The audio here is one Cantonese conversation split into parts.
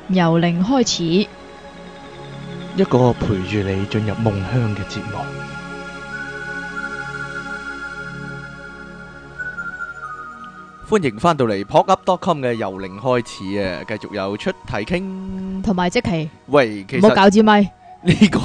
由零開始， 一個陪住你進入夢鄉嘅節目。歡迎翻到嚟 PodUp.com 嘅由零開始啊，繼續有出題傾。 同埋即期喂，其唔好實搞支咪， 呢個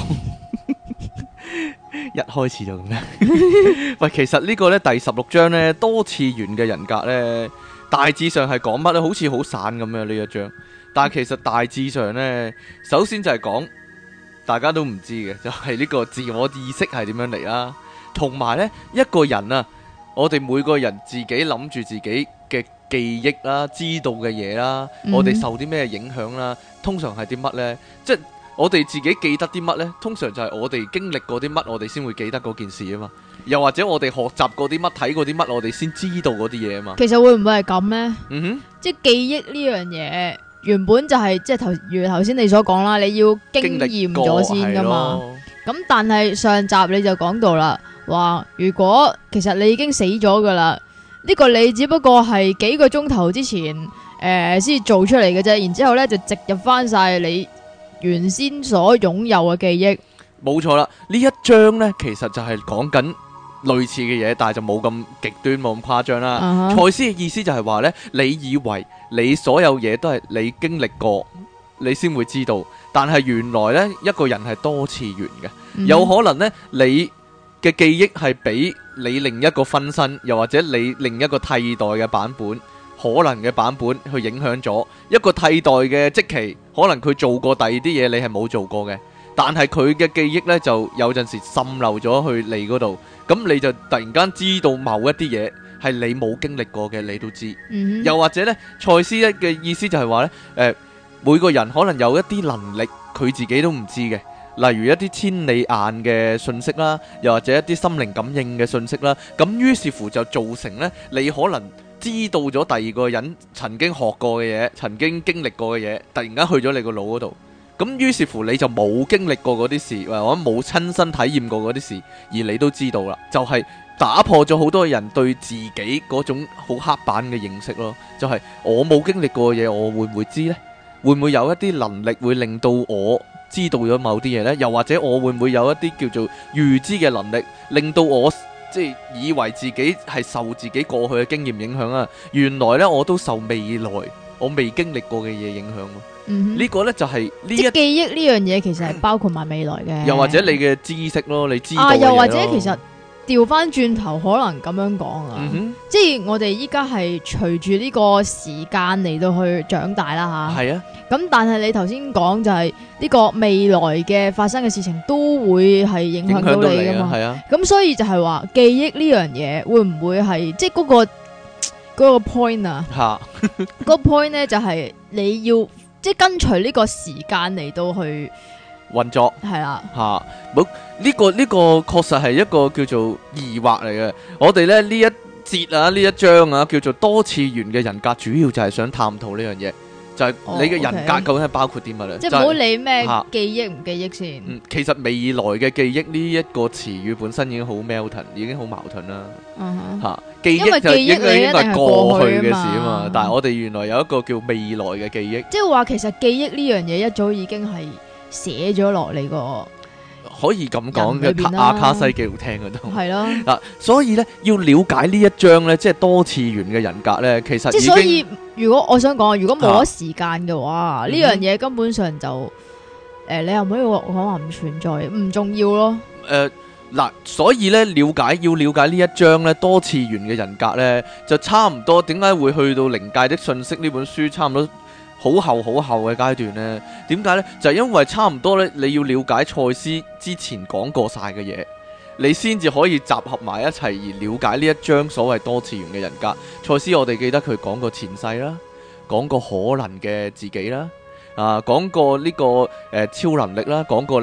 一開始就咁樣。喂，其實呢個呢第16章呢多次元嘅人格呢，大致上係講乜呢？好似好散咁樣呢一章，但係其實大致上呢，首先就係講大家都唔知嘅，就係呢個自我意識係點樣嚟啦，同埋呢一個人啊，我哋每個人自己諗住自己嘅記憶啦、知道嘅嘢啦，我哋受啲咩影響啦，通常係啲乜呢？即係我哋自己記得啲乜呢？通常就係我哋經歷過啲乜，我哋先會記得嗰件事啊嘛。又或者我哋學習過啲乜、睇過啲乜，我哋先知道嗰啲嘢啊嘛。 其實會唔會係咁呢？ 嗯即係記憶呢樣嘢，原本就係即係如頭先你所講啦，你要經驗咗先噶嘛。咁但係上集你就講到啦，話如果其實你已經死咗噶啦，呢個你只不過係幾個鐘頭之前先做出嚟嘅啫，然之後咧就植入翻晒你原先所擁有嘅記憶。 冇錯啦，呢一章呢，其實就係講緊類似嘅嘢，但係就冇咁極端，冇咁誇張啦。賽斯嘅意思就係話呢，你以為你所有嘢都係你經歷過，你先會知道，但係原來呢，一個人係多次元嘅，有可能呢，你嘅記憶係俾你另一個分身，又或者你另一個替代嘅版本，可能嘅版本去影響咗一個替代嘅即期，可能佢做過第二啲嘢，你係冇做過嘅。但係佢嘅記憶呢，就有陣時滲漏咗去你嗰度，咁你就突然間知道某一啲嘢係你冇經歷過嘅，你都知。又或者呢，賽斯嘅意思就係話呢，每個人可能有一啲能力，佢自己都唔知嘅，例如一啲千里眼嘅信息啦，又或者一啲心靈感應嘅信息啦，咁於是乎就造成呢，你可能知道咗第二個人曾經學過嘅嘢，曾經經歷過嘅嘢，突然間去咗你個腦嗰度。咁於是乎你就冇經歷過嗰啲事，或者冇親身體驗過嗰啲事，而你都知道啦，就係打破咗好多人對自己嗰種好刻板嘅認識咯。就係我冇經歷過嘅嘢，我會唔會知呢？會唔會有一啲能力會令到我知道咗某啲嘢呢？又或者我會唔會有一啲叫做預知嘅能力，令到我即係以為自己係受自己過去嘅經驗影響啊？原來呢，我都受未來我未經歷過嘅嘢影響咯。呢個呢就係呢一記憶呢樣嘢，其實係包括埋未來嘅。 又或者你嘅知識咯，你知道嘅嘢咯。 又或者其實調翻轉頭，可能咁樣講啊，即係我哋依家係隨住呢個時間嚟到去長大啦吓。係啊。咁但係你頭先講就係呢個未來嘅發生嘅事情都會係影響到你噶嘛。係啊。咁所以就係話記憶呢樣嘢會唔會係即係嗰個 point 啊？吓。嗰個 point 咧就係你要。即係跟隨呢個時間嚟到去運作， 係啦嚇，冇呢個確實係一個叫做疑惑嚟嘅。我哋咧呢一節啊，呢一章啊，叫做多次元嘅人格，主要就係想探討呢樣嘢，就係你嘅人格究竟係包括啲乜咧？ 即係唔好理咩記憶唔記憶先。 其實未來嘅記憶呢一個詞語本身已經好 melton，已經好矛盾啦。嚇，記憶就應該係過去嘅事啊嘛，但係我哋原來有一個叫未來嘅記憶。 即係話其實記憶呢樣嘢一早已經係寫咗落嚟個。 可以咁講嘅，阿卡西記錄聽嘅都係咯。嗱，所以咧要了解呢一章咧，即係多次元嘅人格咧，其實即係所以，如果我想講，如果冇咗時間嘅話，呢樣嘢根本上就你又唔可以講話唔存在，唔重要咯。 嗱，所以咧要了解呢一章咧多次元嘅人格咧，就差唔多。點解會去到靈界的訊息呢本書差唔多好厚嘅階段呢？點解呢？就係因為差唔多咧，你要了解賽斯之前講過晒嘅嘢，你先至可以集合埋一齊而了解呢一章所謂多次元嘅人格。賽斯我哋記得佢講過前世啦，講過可能嘅自己啦，講過呢個超能力啦，講過你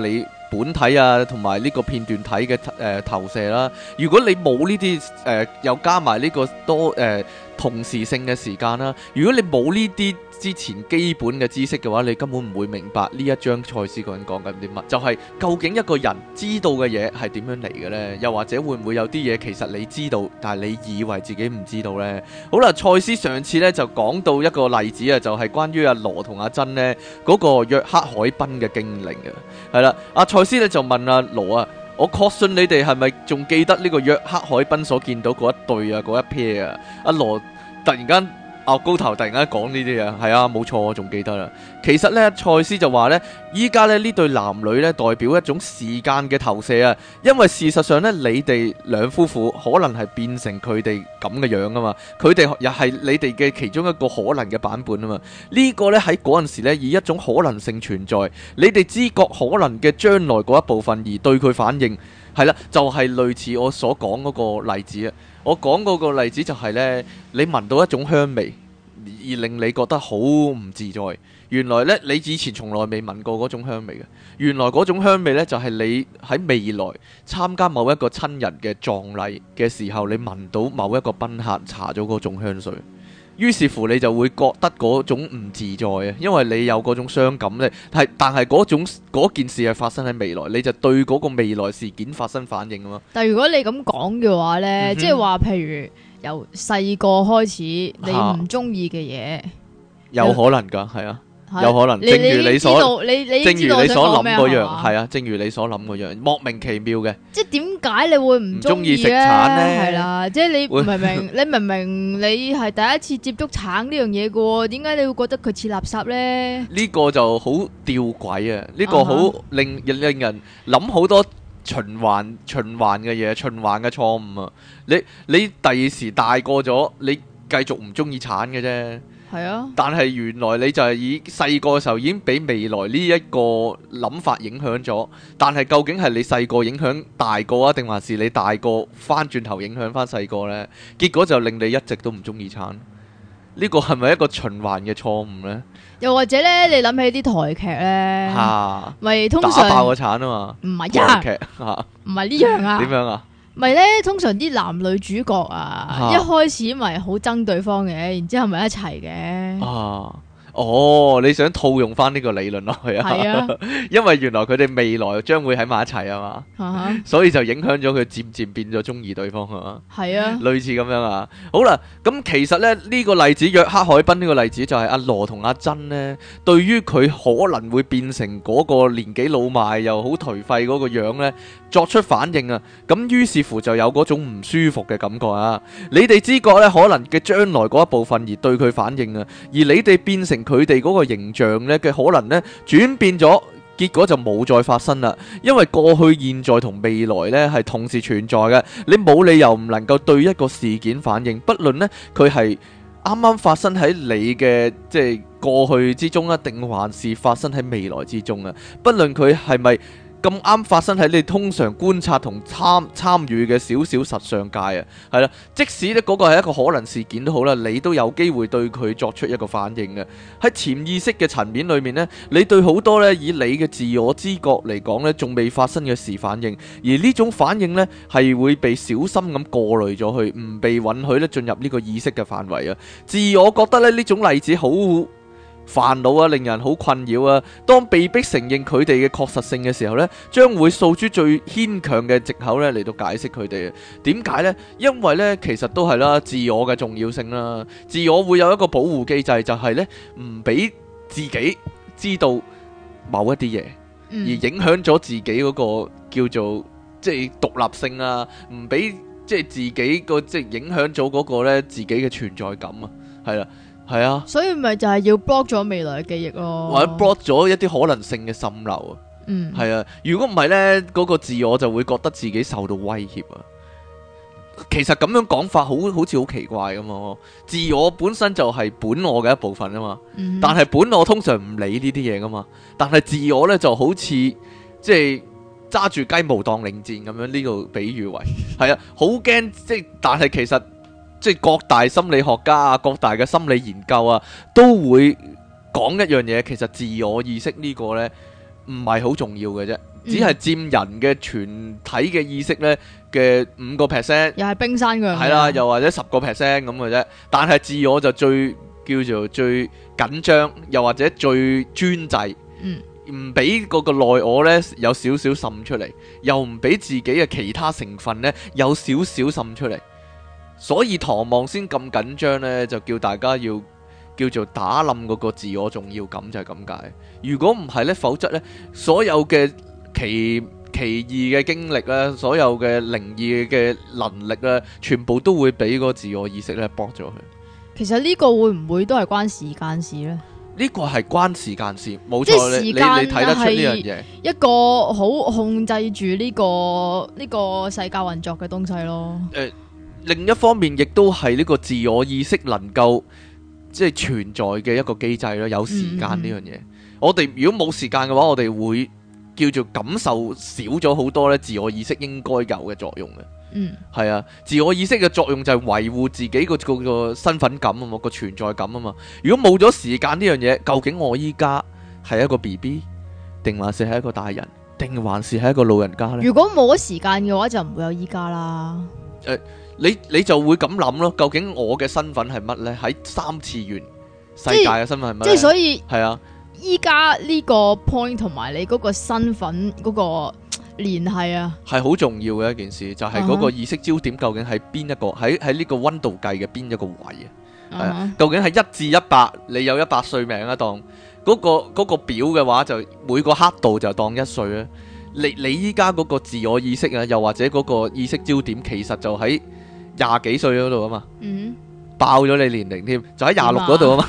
本體啊，同埋呢個片段體嘅投射啦。如果你冇呢啲又加埋呢個多同時性嘅時間啦，如果你冇呢啲之前基本嘅知識嘅話，你根本唔會明白呢一章賽斯個人講緊啲乜，就係究竟一個人知道嘅嘢係點樣嚟嘅呢？又或者會唔會有啲嘢其實你知道，但係你以為自己唔知道呢？好啦，賽斯上次呢就講到一個例子啊，就係關於阿羅同阿珍呢嗰個約克海濱嘅經歷嘅。係啦，阿賽斯呢就問阿羅啊，我確信你哋係咪仲記得呢個約克海濱所見到嗰一對啊，嗰一 pair 啊？阿羅突然間高頭突然間講呢啲嘢，係啊，冇錯，我仲記得啦。其實呢，賽斯就話呢，依家呢對男女呢代表一種時間嘅投射啊，因為事實上呢，你哋兩夫婦可能係變成佢哋咁嘅樣啊嘛，佢哋又係你哋嘅其中一個可能嘅版本啊嘛。呢個呢喺嗰陣時呢以一種可能性存在，你哋知覺可能嘅將來嗰一部分而對佢反應，係啦，就係類似我所講嗰個例子啊。我講嗰個例子就係呢：你聞到一種香味而令你覺得好唔自在。原來呢，你以前從來未聞過嗰種香味嘅。原來嗰種香味呢，就係你喺未來參加某一個親人嘅葬禮嘅時候，你聞到某一個賓客搽咗嗰種香水。於是乎你就會覺得嗰種唔自在啊，因為你有嗰種傷感咧，但係嗰件事係發生喺未來，你就對嗰個未來事件發生反應啊嘛。 但係如果你咁講嘅話呢，即係話譬如由細個開始你唔中意嘅嘢，有可能㗎，係啊。有可能，正如你所諗嗰樣，係啊，正如你所諗嗰樣，莫名其妙嘅。 即係點解你會唔中意食橙咧？係啦，即係你明明你係第一次接觸橙呢樣嘢嘅喎，點解你會覺得佢似垃圾咧？呢個就好吊詭啊！呢個好令人諗好多循環嘅嘢，循環嘅錯誤啊！你第二時大個咗，你繼續唔中意橙嘅啫。係啊，但係原來你就係以細個嘅時候已經俾未來呢一個諗法影響咗，但係究竟係你細個影響大個啊，定還是你大個翻轉頭影響翻細個呢？結果就令你一直都唔中意橙。呢個係咪一個循環嘅錯誤呢？又或者呢，你諗起啲台劇呢，咪通常打爆個橙啊嘛？唔係啊，台劇唔係呢樣啊？點樣啊？咪咧，通常啲男女主角一開始咪好憎對方嘅，然之後咪一齊嘅。哦，你想套用翻呢個理論落去啊？係啊，因為原來佢哋未來將會喺埋一齊啊嘛，所以就影響咗佢漸漸變咗中意對方啊嘛。係啊，類似咁樣啊。好啦，咁其實咧呢個例子約克海濱呢個例子就係阿羅同阿珍呢，對於佢可能會變成嗰個年紀老邁又好頹廢嗰個樣呢，作出反應啊。咁於是乎就有嗰種唔舒服嘅感覺啊。你哋知覺呢可能嘅將來嗰一部分而對佢反應啊，而你哋變成佢哋嗰個形象咧嘅可能咧轉變咗，結果就冇再發生啦。因為過去、現在同未來咧係同時存在嘅，你冇理由唔能夠對一個事件反應，不論咧佢係啱啱發生喺你嘅即係過去之中啊，定還是發生喺未來之中啊，不論佢係咪咁啱發生喺你通常觀察同參與嘅小小實相界啊，係啦，即使咧嗰個係一個可能事件都好啦，你都有機會對佢作出一個反應嘅。喺潛意識嘅層面裏面呢，你對好多咧以你嘅自我知覺嚟講咧，仲未發生嘅事反應，而呢種反應呢係會被小心咁過濾咗去，唔被允許咧進入呢個意識嘅範圍啊。自我覺得咧呢種例子好煩惱啊，令人好困擾啊。當被逼承認佢哋嘅確實性嘅時候呢，將會訴諸最牽強嘅藉口呢嚟到解釋佢哋。點解呢？因為呢，其實都係啦，自我嘅重要性啦。自我會有一個保護機制，就係呢唔俾自己知道某一啲嘢，而影響咗自己嗰個叫做即係獨立性啊，唔俾即係自己個即係影響咗嗰個呢自己嘅存在感啊，係啦。係啊，所以咪就係要 block 咗未來嘅記憶咯，或者 block 咗一啲可能性嘅滲漏啊。係啊，如果唔係呢，嗰個自我就會覺得自己受到威脅啊。其實咁樣講法好似好奇怪噶嘛。自我本身就係本我嘅一部分啊嘛，但係本我通常唔理呢啲嘢噶嘛，但係自我呢就好似即係揸住雞毛當令箭咁樣，呢個比喻為係啊，好驚即係，但係其實。即係各大心理學家啊，各大嘅心理研究啊，都會講一樣嘢，其實自我意識呢個呢唔係好重要嘅啫， 只係佔人嘅全體嘅意識呢嘅5%， 又係冰山嘅， 係啦，又或者10%咁嘅啫。但係自我就最叫做最緊張，又或者最專制，唔俾嗰個內我呢有少少滲出嚟，又唔俾自己嘅其他成分呢有少少滲出嚟。所以唐望先咁緊張呢，就叫大家要叫做打冧嗰個自我重要感，就係咁解。如果唔係呢，否則呢，所有嘅奇異嘅經歷咧，所有嘅靈異嘅能力咧，全部都會俾個自我意識咧剝咗佢。 其實呢個會唔會都係關時間事呢？ 呢個係關時間事，冇錯。你睇得出呢樣嘢， 一個好控制住呢個世界運作嘅東西咯。 另一方面亦都係呢個自我意識能夠即係存在嘅一個機制咯。有時間呢樣嘢，我哋如果冇時間嘅話，我哋會叫做感受少咗好多咧，自我意識應該有嘅作用嘅。係啊，自我意識嘅作用就係維護自己個身份感啊嘛，個存在感啊嘛。如果冇咗時間呢樣嘢，究竟我依家係一個 BB， 定還是係一個大人，定還是係一個老人家呢？如果冇咗時間嘅話，就唔會有依家啦。 你就會咁諗咯。究竟我嘅身份係乜呢？喺3次元世界嘅身份係乜呢？ 即係所以係啊。 依家呢個 point 同埋你嗰個身份嗰個聯繫啊，係好重要嘅一件事，就係嗰個意識焦點究竟喺邊一個喺呢個溫度計嘅邊一個位啊？係啊，究竟係1至100，你有100歲命啊？當嗰個表嘅話，就每個刻度就當1歲啊。你依家嗰個自我意識啊，又或者嗰個意識焦點，其實就喺20幾歲嗰度啊嘛。爆咗你年齡添，就喺26嗰度啊嘛。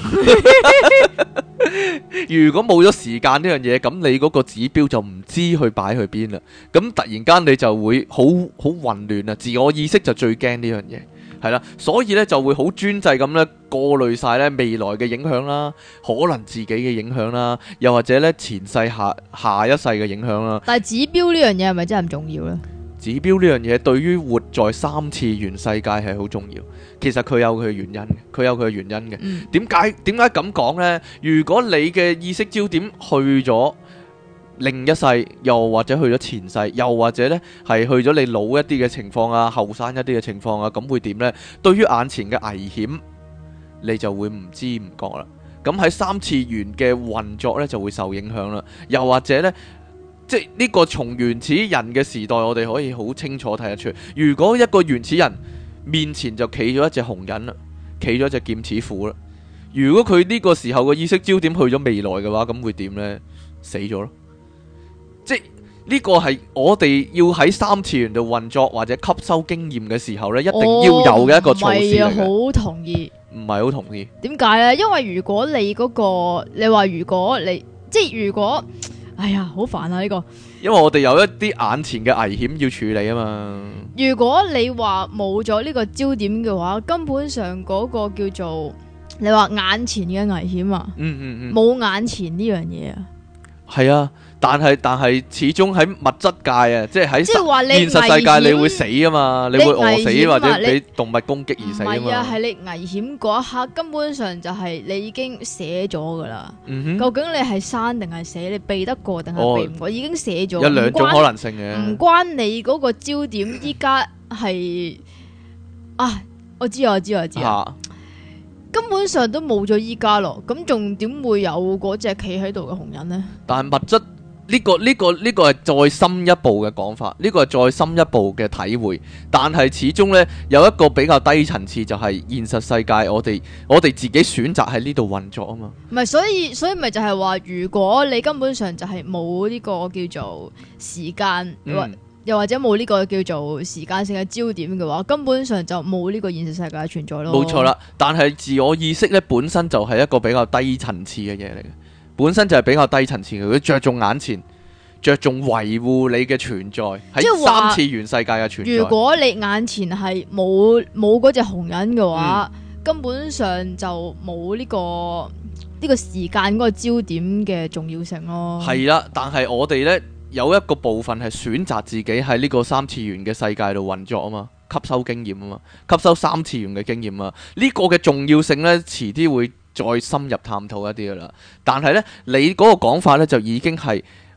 如果冇咗時間呢樣嘢，咁你嗰個指標就唔知去擺去邊啦。咁突然間你就會好混亂啊！自我意識就最驚呢樣嘢，係啦，所以呢就會好專制咁呢過濾晒呢未來嘅影響啦，可能自己嘅影響啦，又或者呢前世下一世嘅影響啦。 但係指標呢樣嘢係咪真係咁重要呢？ 指標呢樣嘢對於活在3次元世界係好重要。其實佢有佢嘅原因嘅，佢有佢嘅原因嘅。點解咁講呢？如果你嘅意識焦點去咗另一世，又或者去咗前世，又或者呢係去咗你老一啲嘅情況啊，後生一啲嘅情況啊，咁會點呢？對於眼前嘅危險，你就會唔知唔覺啦。咁喺3次元嘅運作呢，就會受影響啦。又或者呢，即係呢個從原始人嘅時代，我哋可以好清楚睇得出，如果一個原始人面前就企咗一隻紅人啦，企咗一隻劍齒虎啦。如果佢呢個時候嘅意識焦點去咗未來嘅話，咁會點呢？死咗咯。即係呢個係我哋要喺3次元度運作或者吸收經驗嘅時候呢，一定要有嘅一個措施嚟嘅。 唔係好同意。 唔係好同意。點解呢？因為如果你嗰個，你話如果你即係如果，哎呀，好煩啊呢個。 因為我哋有一啲眼前嘅危險要處理啊嘛。 如果你話冇咗呢個焦點嘅話，根本上嗰個叫做你話眼前嘅危險啊，冇眼前呢樣嘢啊。係啊，但係始終喺物質界啊，即係喺現實世界你會死啊嘛，你會餓死或者俾動物攻擊而死啊嘛。唔係啊， 係你危險嗰一刻，根本上就係你已經寫咗噶啦。究竟你係生定係死，你避得過定係避唔過，已經寫咗。 有兩種可能性嘅， 唔關你嗰個焦點依家係啊，我知啊。根本上都冇咗依家咯，咁仲點會有嗰隻企喺度嘅紅人呢？ 但係物質呢個係再深一步嘅講法，呢個係再深一步嘅體會。但係始終呢，有一個比較低層次，就係現實世界我哋自己選擇喺呢度運作啊嘛。 唔係，所以咪就係話，如果你根本上就係冇呢個叫做時間，又或者冇呢個叫做時間性嘅焦點嘅話，根本上就冇呢個現實世界嘅存在咯。 冇錯啦，但係自我意識咧本身就係一個比較低層次嘅嘢嚟嘅，本身就係比較低層次嘅，佢着重眼前，着重維護你嘅存在喺3次元世界嘅存在。 如果你眼前係冇嗰隻紅人嘅話，根本上就冇呢個時間嗰個焦點嘅重要性咯。係啦， 但係我哋呢。有一個部分係選擇自己喺呢個3次元嘅世界度運作啊嘛，吸收經驗啊嘛，吸收3次元嘅經驗啊，呢個嘅重要性呢，遲啲會再深入探討一啲噶啦。但係呢，你嗰個講法呢，就已經係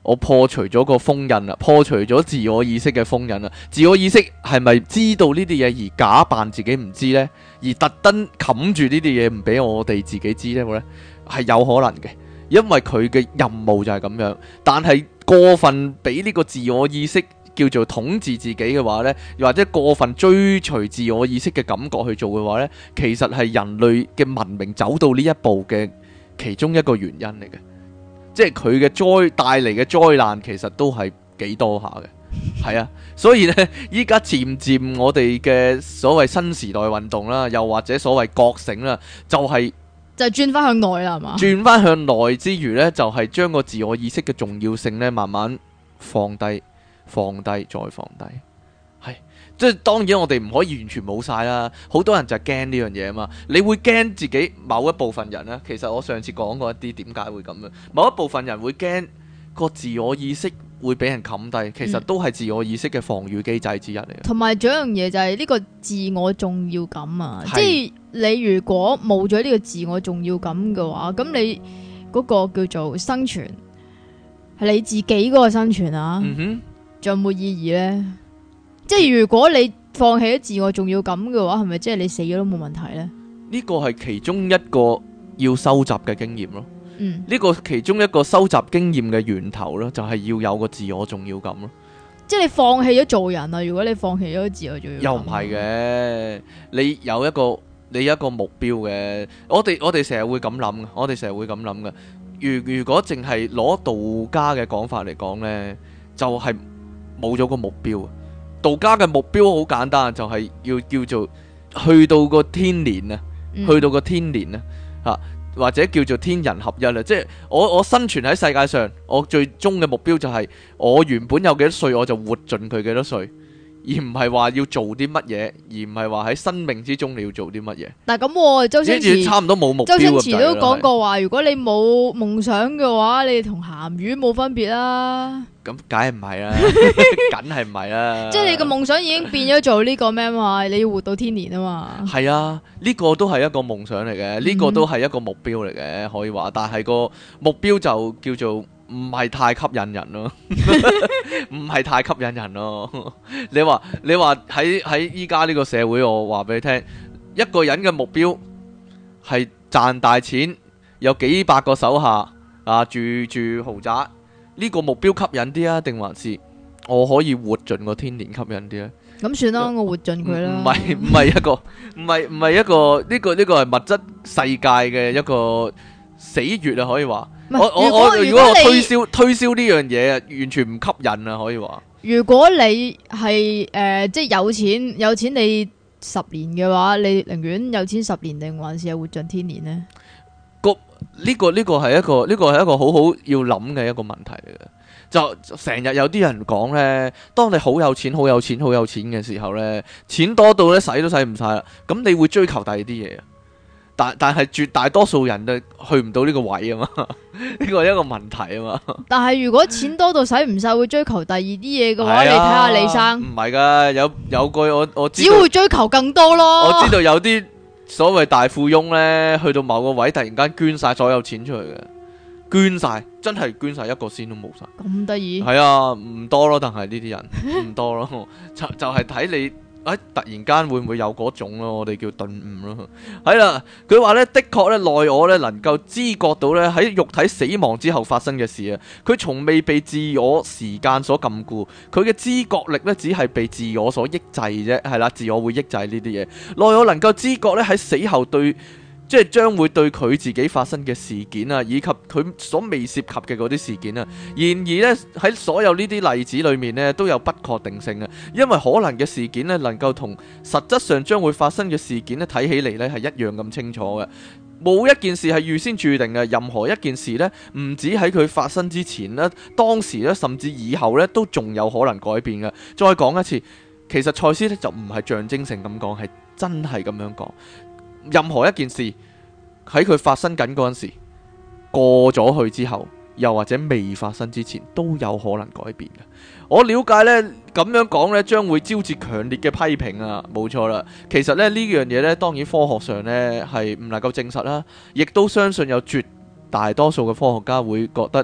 我破除咗個封印啦，破除咗自我意識嘅封印啦。自我意識係咪知道呢啲嘢而假扮自己唔知呢？而特登冚住呢啲嘢唔俾我哋自己知呢？係有可能嘅，因為佢嘅任務就係咁樣。但係過分俾呢個自我意識叫做統治自己嘅話呢，又或者過分追隨自我意識嘅感覺去做嘅話呢，其實係人類嘅文明走到呢一步嘅其中一個原因嚟嘅。即係佢嘅帶嚟嘅災難，其實都係幾多下嘅，係啊，所以呢，依家漸漸我哋嘅所謂新時代運動啦，又或者所謂覺醒啦，就轉翻向內啦，係嘛？轉翻向內之餘呢，就係將個自我意識嘅重要性呢，慢慢放低，放低，再放低，係。即係當然我哋唔可以完全冇晒啦，好多人就係驚呢樣嘢啊嘛。你會驚自己某一部分人呢？其實我上次講過一啲點解會咁樣，某一部分人會驚個自我意識會俾人冚低，其實都係自我意識嘅防禦機制之一嚟嘅。同埋仲有一樣嘢就係呢個自我重要感啊，即係你如果冇咗呢個自我重要感嘅話，咁你嗰個叫做生存係你自己嗰個生存啊，仲有冇意義呢？即係如果你放棄咗自我重要感嘅話，係咪即係你死咗都冇問題呢？呢個係其中一個要收集嘅經驗咯。呢個其中一個收集經驗嘅源頭咯，就係要有個自我重要感咯。即係你放棄咗做人啊！如果你放棄咗自我重要感，又唔係嘅。你有一個目標嘅。我哋成日會咁諗嘅。我哋成日會咁諗嘅。如果淨係攞道家嘅講法嚟講呢，就係冇咗個目標。道家嘅目標好簡單，就係要叫做去到個天年啊，去到個天年啊，或者叫做天人合一啊。即係我生存喺世界上，我最終嘅目標就係我原本有幾多歲，我就活盡佢幾多歲，而唔係話要做啲乜嘢，而唔係話喺生命之中你要做啲乜嘢。但係咁，周星馳差唔多冇目標。周星馳都講過話，如果你冇夢想嘅話，你同鹹魚冇分別啦。咁梗係唔係啦，梗係唔係啦。即係你個夢想已經變咗做呢個咩嘛？你要活到天年啊嘛。係啊，呢個都係一個夢想嚟嘅，呢個都係一個目標嚟嘅，可以話。但係個目標就叫做唔係太吸引人咯，唔係太吸引人咯。你話喺依家呢個社會，我話俾你聽，一個人嘅目標係賺大錢，有幾百個手下啊，住豪宅。呢個目標吸引啲啊，定還是我可以活盡個天年吸引啲咧？咁算啦，我活盡佢啦。唔係一個，呢個係物質世界嘅一個死穴啊，可以話。如果我推銷呢樣嘢啊，完全唔吸引啊，可以話。如果你係即係有錢你10年嘅話，你寧願有錢10年定還是係活盡天年呢？呢個係一個好好要諗嘅一個問題嚟嘅。就成日有啲人講呢，當你好有錢嘅時候呢，錢多到呢使都使唔晒啦，咁你會追求第二啲嘢啊。但係絕大多數人都去唔到呢個位啊嘛，呢個係一個問題啊嘛。但係如果錢多到使唔晒，會追求第二啲嘢嘅話，你睇下李生。唔係噶，有句我知道，只會追求更多咯。我知道有啲所謂大富翁呢，去到某個位突然間捐晒所有錢出去嘅，捐晒，真係捐晒，一個仙都冇晒。咁得意？係啊，唔多咯，但係呢啲人唔多咯，就係睇你突然間會唔會有嗰種咯，我哋叫頓悟咯。係啦，佢話呢，的確呢，內我呢能夠知覺到呢，喺肉體死亡之後發生嘅事啊，佢從未被自我時間所禁錮，佢嘅知覺力呢，只係被自我所抑制啫。係啦，自我會抑制呢啲嘢。內我能夠知覺呢，喺死後即係將會對佢自己發生嘅事件啊，以及佢所未涉及嘅嗰啲事件啊。然而呢，喺所有呢啲例子裏面呢，都有不確定性啊。因為可能嘅事件呢，能夠同實質上將會發生嘅事件呢，睇起嚟呢係一樣咁清楚嘅。冇一件事係預先注定嘅，任何一件事呢，唔止喺佢發生之前呢，當時呢，甚至以後呢，都仲有可能改變嘅。再講一次，其實賽斯呢就唔係象徵性咁講，係真係咁樣講。任何一件事喺佢發生緊嗰陣時，過咗去之後，又或者未發生之前，都有可能改變嘅。我了解呢，咁樣講呢，將會招致強烈嘅批評啊！冇錯啦，其實呢樣嘢呢，當然科學上呢係唔能夠證實啦，亦都相信有絕大多數嘅科學家會覺得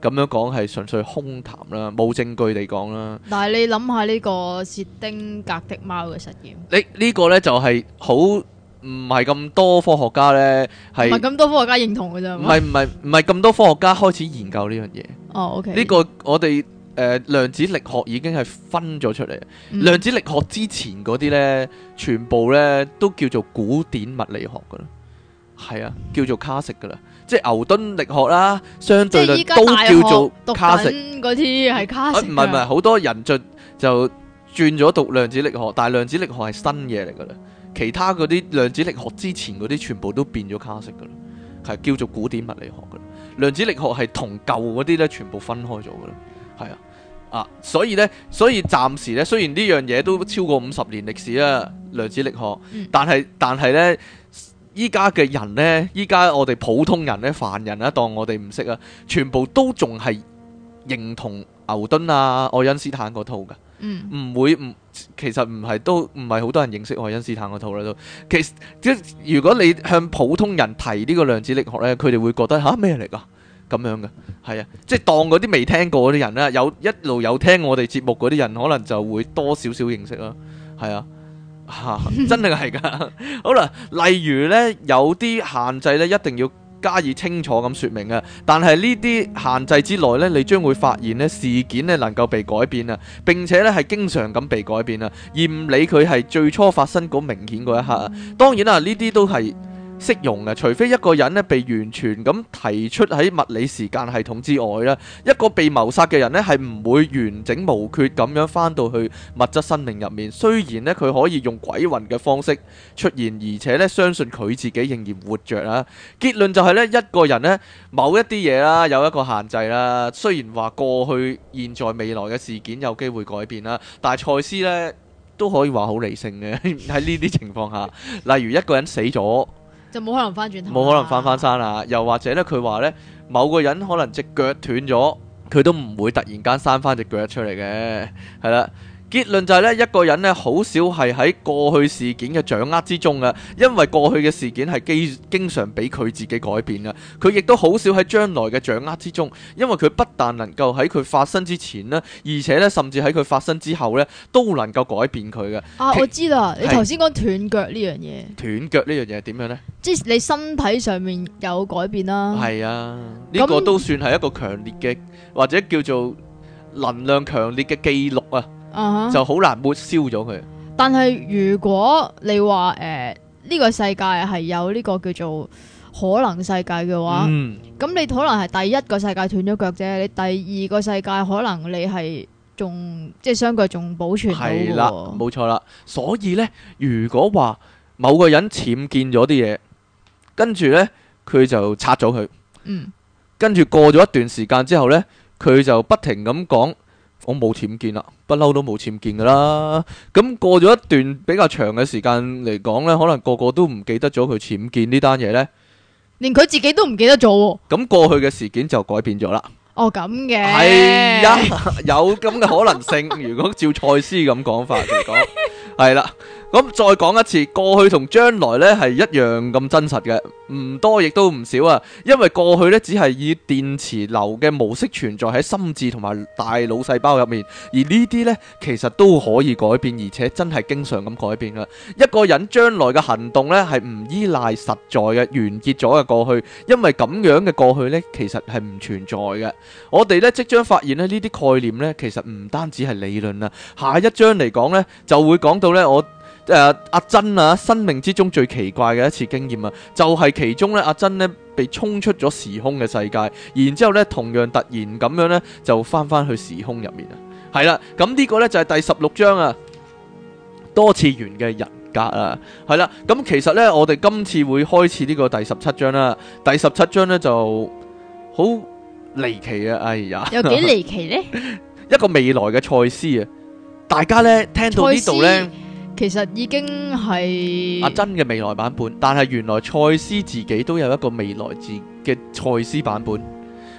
咁樣講係純粹空談啦，冇證據地講啦。 但係你諗下呢個薛丁格的貓嘅實驗， 呢個呢就係好唔係咁多科學家呢，係唔係咁多科學家認同嘅啫。 唔係咁多科學家開始研究呢樣嘢。 哦，OK。 呢個我哋量子力學已經係分咗出嚟。量子力學之前嗰啲呢，全部呢都叫做古典物理學噶啦，係啊，叫做卡式噶啦。即係牛頓力學啦，相對論都叫做卡式。 嗰啲係卡式。唔係，好多人就轉咗讀量子力學，但係量子力學係新嘢嚟噶啦。其他嗰啲量子力學之前嗰啲全部都變咗卡式噶啦，係叫做古典物理學噶啦。量子力學係同舊嗰啲咧全部分開咗噶啦，係啊，所以暫時咧，雖然呢樣嘢都超過50年歷史啦，量子力學，但係咧。依家嘅人呢，依家我哋普通人呢，凡人啊，當我哋唔識啊，全部都仲係認同牛頓啊、愛因斯坦嗰套㗎。其實唔係好多人認識愛因斯坦嗰套啦都。如果你向普通人提呢個量子力學呢，佢哋會覺得吓咩嚟㗎？咁樣嘅，係啊，即係當嗰啲未聽過嗰啲人啦，一路有聽我哋節目嗰啲人，可能就會多少少認識啦，係啊。真係噶，好啦，例如呢，有啲限制呢，一定要加以清楚咁說明啊。但係呢啲限制之內呢，你將會發現呢，事件呢能夠被改變啊，並且呢係經常咁被改變啊，而唔理佢係最初發生嗰明顯嗰一刻啊。當然啦，呢啲都係適用嘅，除非一個人呢被完全咁提出喺物理時間系統之外啦，一個被謀殺嘅人呢係唔會完整無缺咁樣翻到去物質生命入面。雖然呢，佢可以用鬼魂嘅方式出現，而且呢相信佢自己仍然活着啊。結論就係呢，一個人呢某一啲嘢啦有一個限制啦。雖然話過去、現在、未來嘅事件有機會改變啦，但係賽斯呢都可以話好理性嘅喺呢啲情況下，例如一個人死咗。 就冇可能翻轉頭， 冇可能翻山啦。又或者咧，佢話咧，某個人可能隻腳斷咗，佢都唔會突然間生翻隻腳出嚟嘅，係啦。結論就係咧，一個人咧好少係喺過去事件嘅掌握之中啊，因為過去嘅事件係經常俾佢自己改變啊。佢亦都好少喺將來嘅掌握之中，因為佢不但能夠喺佢發生之前呢，而且咧甚至喺佢發生之後咧都能夠改變佢嘅。 我知啦，你頭先講斷腳呢樣嘢， 斷腳呢樣嘢係點樣呢？即係你身體上面有改變啦。 係啊，呢個都算係一個強烈嘅，或者叫做能量強烈嘅記錄啊。就好難抹消咗佢。 但係如果你話呢個世界係有呢個叫做可能世界嘅話，咁你可能係第一個世界斷咗腳啫，你第二個世界可能你係仲即係雙腳仲保存到嘅。係啦， 冇錯啦。所以呢，如果話某個人僭建咗啲嘢，跟住呢，佢就拆咗佢，跟住過咗一段時間之後呢，佢就不停咁講。我冇僭建啦，不嬲都冇僭建噶啦。咁過咗一段比較長嘅時間嚟講呢，可能個個都唔記得咗佢僭建呢單嘢呢， 連佢自己都唔記得咗。 咁過去嘅事件就改變咗啦。 哦，咁嘅係啊，有咁嘅可能性。如果照賽斯咁講法嚟講，係啦。咁再講一次，過去同將來呢係一樣咁真實嘅，唔多亦都唔少啊。因為過去呢只係以電磁流嘅模式存在喺心智同埋大腦細胞入面，而呢啲呢其實都可以改變，而且真係經常咁改變噶。一個人將來嘅行動呢係唔依賴實在嘅完結咗嘅過去，因為咁樣嘅過去呢其實係唔存在嘅。我哋呢即將發現呢啲概念呢其實唔單止係理論啊。下一章嚟講呢就會講到呢阿珍啊，生命之中最奇怪嘅一次經驗啊，就係其中咧，阿珍咧被衝出咗時空嘅世界，然之後咧同樣突然咁樣咧就翻去時空入面啊，係啦，咁呢個咧就係第16章啊，多次元嘅人格啊，係啦，咁其實咧我哋今次會開始呢個第17章啦，第17章咧就好離奇啊，哎呀， 有幾離奇呢？ 一個未來嘅賽斯啊，大家咧聽到呢度咧。 其實已經係阿珍嘅未來版本，但係原來賽斯自己都有一個未來嘅賽斯版本，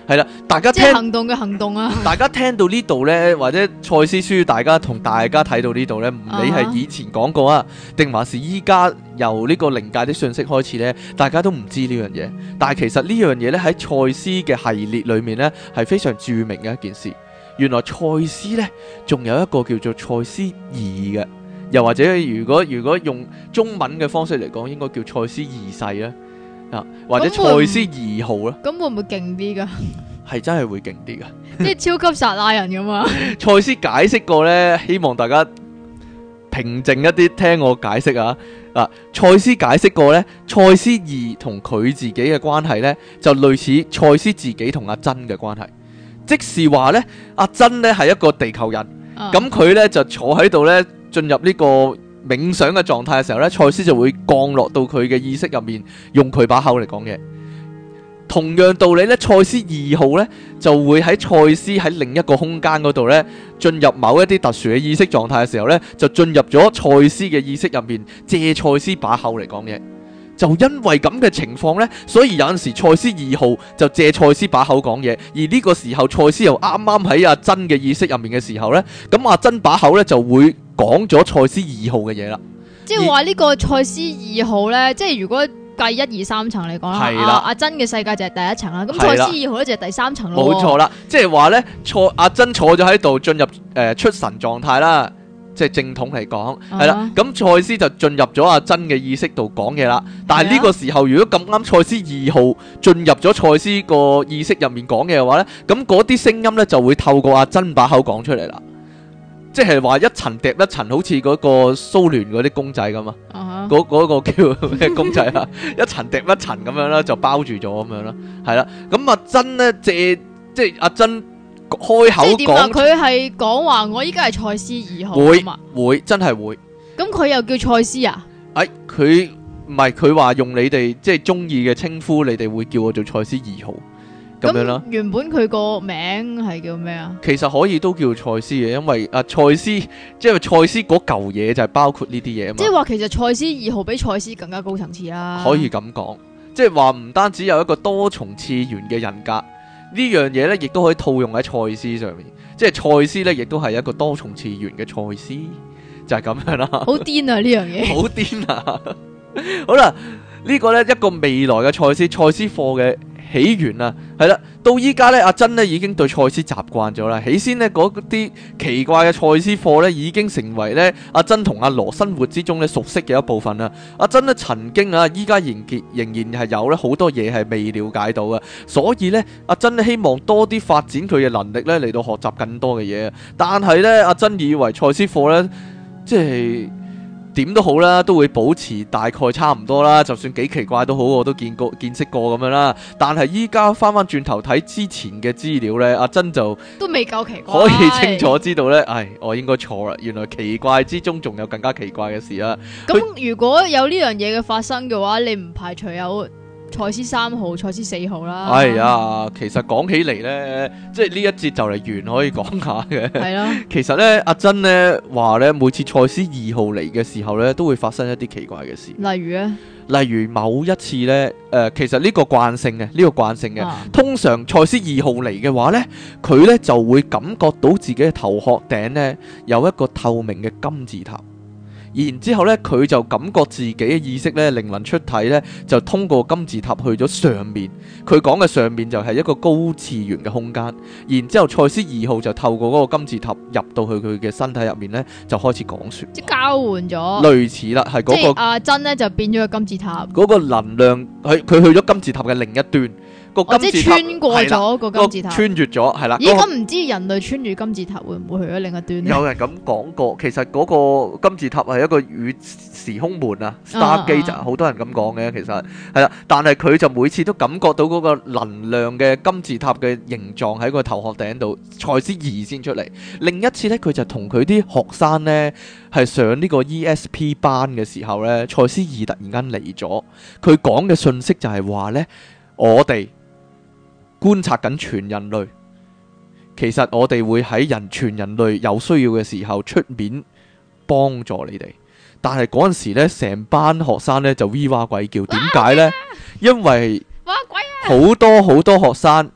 係啦，大家即係行動嘅行動啊！ 大家聽到呢度呢，或者賽斯書，大家睇到呢度呢，唔理係以前講過啊，定還是依家由呢個靈界的訊息開始呢，大家都唔知呢樣嘢。但係其實呢樣嘢呢，喺賽斯嘅系列裏面呢，係非常著名嘅一件事。原來賽斯呢，仲有一個叫做賽斯二嘅，又或者如果用中文嘅方式嚟講，應該叫賽斯二世啦。或者賽斯二號啦， 咁會唔會勁啲噶？ 係真係會勁啲噶， 即係超級撒拉人噶嘛？ 賽斯解釋過呢，希望大家平靜一啲聽我解釋啊！賽斯解釋過呢，賽斯二同佢自己嘅關係呢，就類似賽斯自己同阿珍嘅關係，即是話呢，阿珍呢係一個地球人，咁佢呢就坐喺度呢，進入呢個冥想嘅狀態嘅時候呢，賽斯就會降落到佢嘅意識入面，用佢把口嚟講嘢。同樣道理呢，賽斯二號呢就會喺賽斯喺另一個空間嗰度呢，進入某一啲特殊嘅意識狀態嘅時候呢，就進入咗賽斯嘅意識入面，借賽斯把口嚟講嘢。就因為咁嘅情況呢，所以有陣時賽斯二號就借賽斯把口講嘢，而呢個時候賽斯又啱啱喺阿珍嘅意識入面嘅時候呢，咁阿珍把口呢就會講咗賽斯二號嘅嘢啦。 即係話呢個賽斯二號呢，即係如果計1、2、3層嚟講啦，阿珍嘅世界就係第一層啦，咁賽斯二號呢就係第3層咯。冇錯啦， 即係話呢，阿珍坐咗喺度進入出神狀態啦。即係正統嚟講，係啦，咁賽斯就進入咗阿珍嘅意識度講嘢啦。但係呢個時候，如果咁啱賽斯二號進入咗賽斯個意識入面講嘢嘅話呢，咁嗰啲聲音呢就會透過阿珍把口講出嚟啦。即係話一層疊一層，好似嗰個蘇聯嗰啲公仔咁啊，嗰個叫咩公仔啊？一層疊一層咁樣啦，就包住咗咁樣啦，係啦。咁阿珍呢即係阿珍。開口講，即係點啊？ 佢係講話我依家係賽斯二號會真係會。 咁佢又叫賽斯啊？ 佢唔係，佢話用你哋即係中意嘅稱呼，你哋會叫我做賽斯二號咁樣啦。 原本佢個名係叫咩啊？ 其實可以都叫賽斯嘅，因為賽斯即係賽斯嗰嚿嘢就係包括呢啲嘢啊嘛。 即係話其實賽斯二號比賽斯更加高層次啦。 可以咁講，即係話唔單止有一個多重次元嘅人格。呢樣嘢咧，亦都可以套用喺賽斯上面，即係賽斯咧，亦都係一個多重次元嘅賽斯，就係咁樣啦。 好癲啊！呢樣嘢好癲啊！好啦，呢個咧一個未來嘅賽斯課嘅起源啊，係啦，到依家咧，阿珍咧已經對賽斯習慣咗啦。起先呢嗰啲奇怪嘅賽斯課咧，已經成為咧阿珍同阿羅生活之中咧熟悉嘅一部分啦。阿珍咧曾經啊，依家仍然係有咧好多嘢係未了解到嘅，所以咧阿珍希望多啲發展佢嘅能力咧嚟到學習更多嘅嘢。但係咧阿珍以為賽斯課咧即係點都好啦，都會保持大概差唔多啦，就算幾奇怪都好，我都見識過咁樣啦。但係依家翻轉頭睇之前嘅資料呢，阿珍就都未夠奇怪， 可以清楚知道呢，我應該錯啦，原來奇怪之中仲有更加奇怪嘅事啦。 咁如果有呢樣嘢嘅發生嘅話，你唔排除有賽斯3號、賽斯4號啦。 哎呀，其實講起嚟呢，即係呢一節就嚟完可以講下嘅。係啦，其實呢，阿珍呢話呢，每次賽斯2號嚟嘅時候呢，都會發生一啲奇怪嘅事。 例如呢， 例如某一次呢，其實呢個慣性嘅，通常賽斯2號嚟嘅話呢，佢呢就會感覺到自己嘅頭殼頂呢有一個透明嘅金字塔。然之後咧，佢就感覺自己嘅意識咧，靈魂出體咧，就通過金字塔去咗上面。佢講嘅上面就係一個高次元嘅空間。然之後，賽斯2號就透過嗰個金字塔入到去佢嘅身體入面咧，就開始講說， 即交換咗， 類似啦，係嗰個阿珍咧就變咗個金字塔。 嗰個能量，佢去咗金字塔嘅另一端。 即係穿過咗個金字塔， 穿越咗，係啦。 咦，咁唔知人類穿住金字塔會唔會去咗另一端呢？ 有人咁講過，其實嗰個金字塔係一個與時空門啊 ，Stargate，好多人咁講嘅，其實係啦。但係佢就每次都感覺到嗰個能量嘅金字塔嘅形狀喺個頭殼頂度，賽斯2先出嚟。另一次呢，佢就同佢啲學生呢係上呢個 ESP 班嘅時候呢，賽斯2突然間嚟咗，佢講嘅信息就係話呢，我哋觀察緊全人類，其實我哋會喺全人類有需要嘅時候出面幫助你哋。但係嗰陣時呢，成班學生呢就 V 哇鬼叫，點解呢？因為好多學生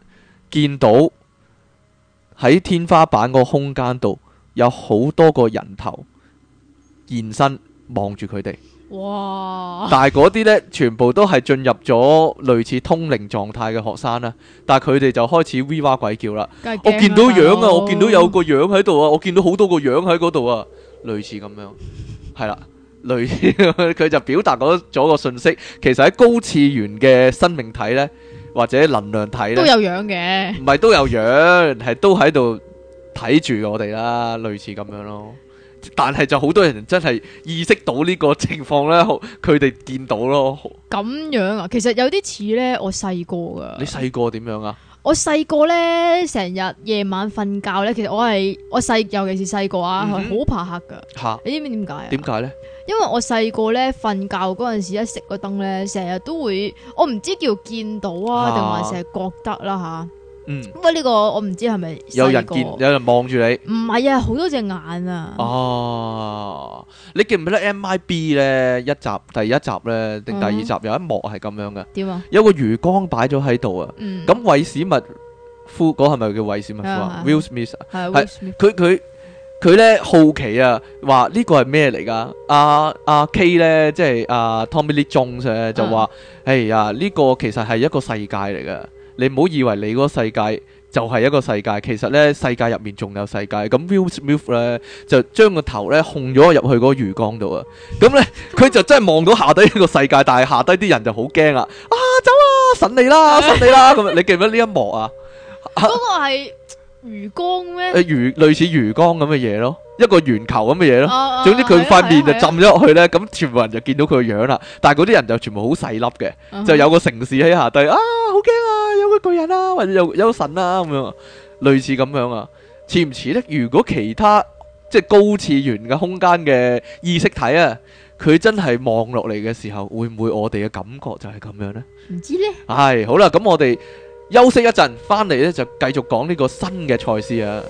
見到喺天花板個空間度有好多個人頭現身望住佢哋。 哇！ 但係嗰啲呢，全部都係進入咗類似通靈狀態嘅學生啦。但係佢哋就開始 V 哇鬼叫啦。我見到樣啊，我見到有個樣喺度啊，我見到好多個樣喺嗰度啊，類似咁樣，係啦，類似佢就表達咗個信息。其實喺高次元嘅生命體呢，或者能量體呢， 都有樣嘅， 唔係都有樣，係都喺度睇住我哋啦，類似咁樣咯。但係就好多人真係意識到呢個情況呢，佢哋見到咯。 咁樣啊，其實有啲似呢，我細個噶。 你細個點樣啊？ 我細個呢，成日夜晚瞓覺呢，其實我尤其是細個啊，係好怕黑噶。吓，你知唔知點解啊？點解呢？因為我細個呢，瞓覺嗰陣時一熄個燈呢，成日都會，我唔知叫見到啊，定還是係覺得啦吓。不過呢個我唔知係咪有人望住你？ 唔係啊，好多隻眼啊！ 哦，你記唔記得 MIB 呢？第一集呢，定第二集有一幕係咁樣嘅？點啊？有個魚缸擺咗喺度啊！咁韋史密夫嗰係咪叫韋史密夫啊 ？Will Smith 係佢呢好奇啊，話呢個係咩嚟噶？阿 K 呢，即係Tommy Lee Jones 咧就話：哎呀，呢個其實係一個世界嚟噶。你唔好以為你嗰個世界就係一個世界，其實呢世界入面仲有世界。咁 Will Smith 呢就將個頭呢控咗入去嗰個魚缸度啊！咁呢佢就真係望到下低呢個世界，但係下低啲人就好驚啊！走啊！神嚟啦！神嚟啦！咁你記唔記得呢一幕啊？ 嗰個係魚缸咩？ 類似魚缸咁嘅嘢咯，一個圓球咁嘅嘢咯。總之佢塊面就浸咗落去呢，咁全部人就見到佢個樣啦。但係嗰啲人就全部好細粒嘅，就有個城市喺下低啊！好驚啊！有個巨人啊，或者有個神啊咁樣，類似咁樣啊，似唔似呢？如果其他即係高次元嘅空間嘅意識體啊，佢真係望落嚟嘅時候，會唔會我哋嘅感覺就係咁樣呢？ 唔知呢。 係好啦，咁我哋休息一陣，翻嚟呢就繼續講呢個新嘅賽斯啊。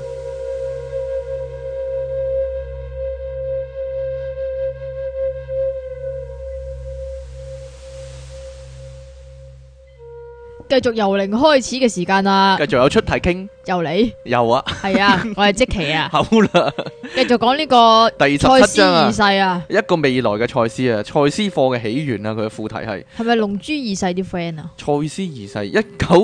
繼續由零開始嘅時間啦， 繼續有出題傾， 又你又啊， 係啊，我係即期啊， 好啦， 繼續講呢個第17章二世啊， 一個未來嘅賽斯啊，賽斯課嘅起源啊，佢嘅副題係咪龍珠二世啲 friend 啊？ 賽斯二世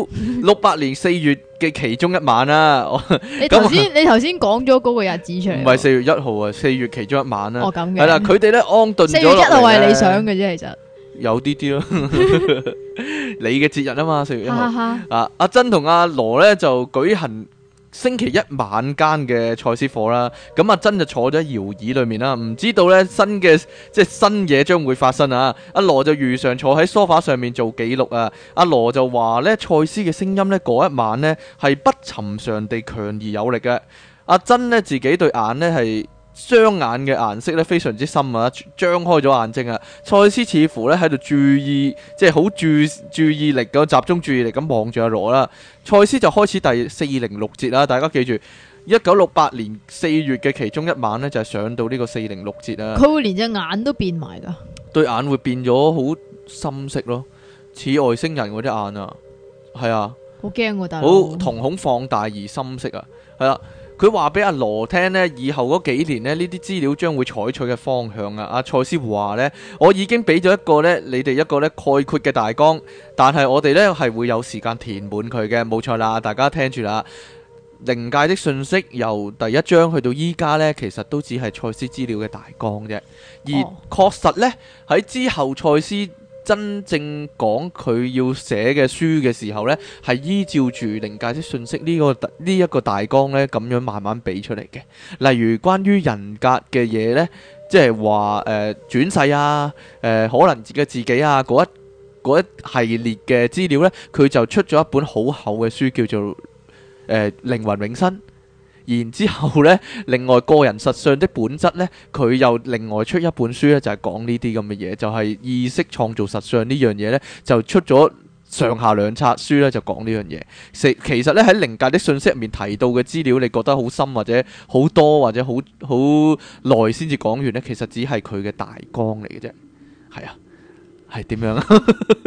1968年4月嘅其中一晚啊， 你頭先講咗嗰個日子出嚟， 唔係4月1號啊，4月其中一晚啊， 哦咁嘅， 係啦，佢哋咧安頓咗落嚟，4月 1號係你想嘅啫，其實。 有啲咯，你嘅節日啊嘛，4月1號阿珍同阿羅呢就舉行星期一晚間嘅賽斯課啦。咁阿珍就坐咗喺搖椅裏面啦，唔知道呢新嘢將會發生啊。阿羅就如常坐喺梳化上面做記錄啊。阿羅就話呢賽斯嘅聲音呢嗰一晚呢係不尋常地強而有力嘅。阿珍呢自己對眼呢係雙眼嘅顏色咧非常之深啊，張開咗眼睛啊。賽斯似乎咧喺度注意，即係好注意力咁集中注意力咁望住阿羅啦。賽斯就開始第406節啦，大家記住1968年4月嘅其中一晚呢，就係上到呢個406節啦。 佢會連隻眼都變埋噶，對眼會變咗好深色咯，似外星人嗰啲眼啊，係啊， 好驚喎，大佬， 好瞳孔放大而深色啊，係啦。佢話俾阿羅聽呢，以後嗰幾年呢，呢啲資料將會採取嘅方向啊。阿賽斯話呢，我已經俾咗一個呢，你哋一個呢概括嘅大綱，但係我哋呢係會有時間填滿佢嘅，冇錯啦。大家聽住啦，靈界的信息由第一章去到依家呢，其實都只係賽斯資料嘅大綱啫。而確實呢，喺之後賽斯真正講佢要寫嘅書嘅時候呢，係依照住靈界的信息呢一個大綱呢咁樣慢慢俾出嚟嘅。例如關於人格嘅嘢呢，即係話轉世啊，可能嘅自己啊，嗰一系列嘅資料呢，佢就出咗一本好厚嘅書，叫做靈魂永生。然之後呢，另外個人實相的本質呢，佢又另外出一本書呢，就係講呢啲咁嘅嘢，就係意識創造實相呢樣嘢呢，就出咗上下兩冊書呢，就講呢樣嘢。其實呢，喺靈界的信息入面提到嘅資料，你覺得好深或者好多或者好耐先至講完呢，其實只係佢嘅大綱嚟嘅啫。係啊，係點樣啊？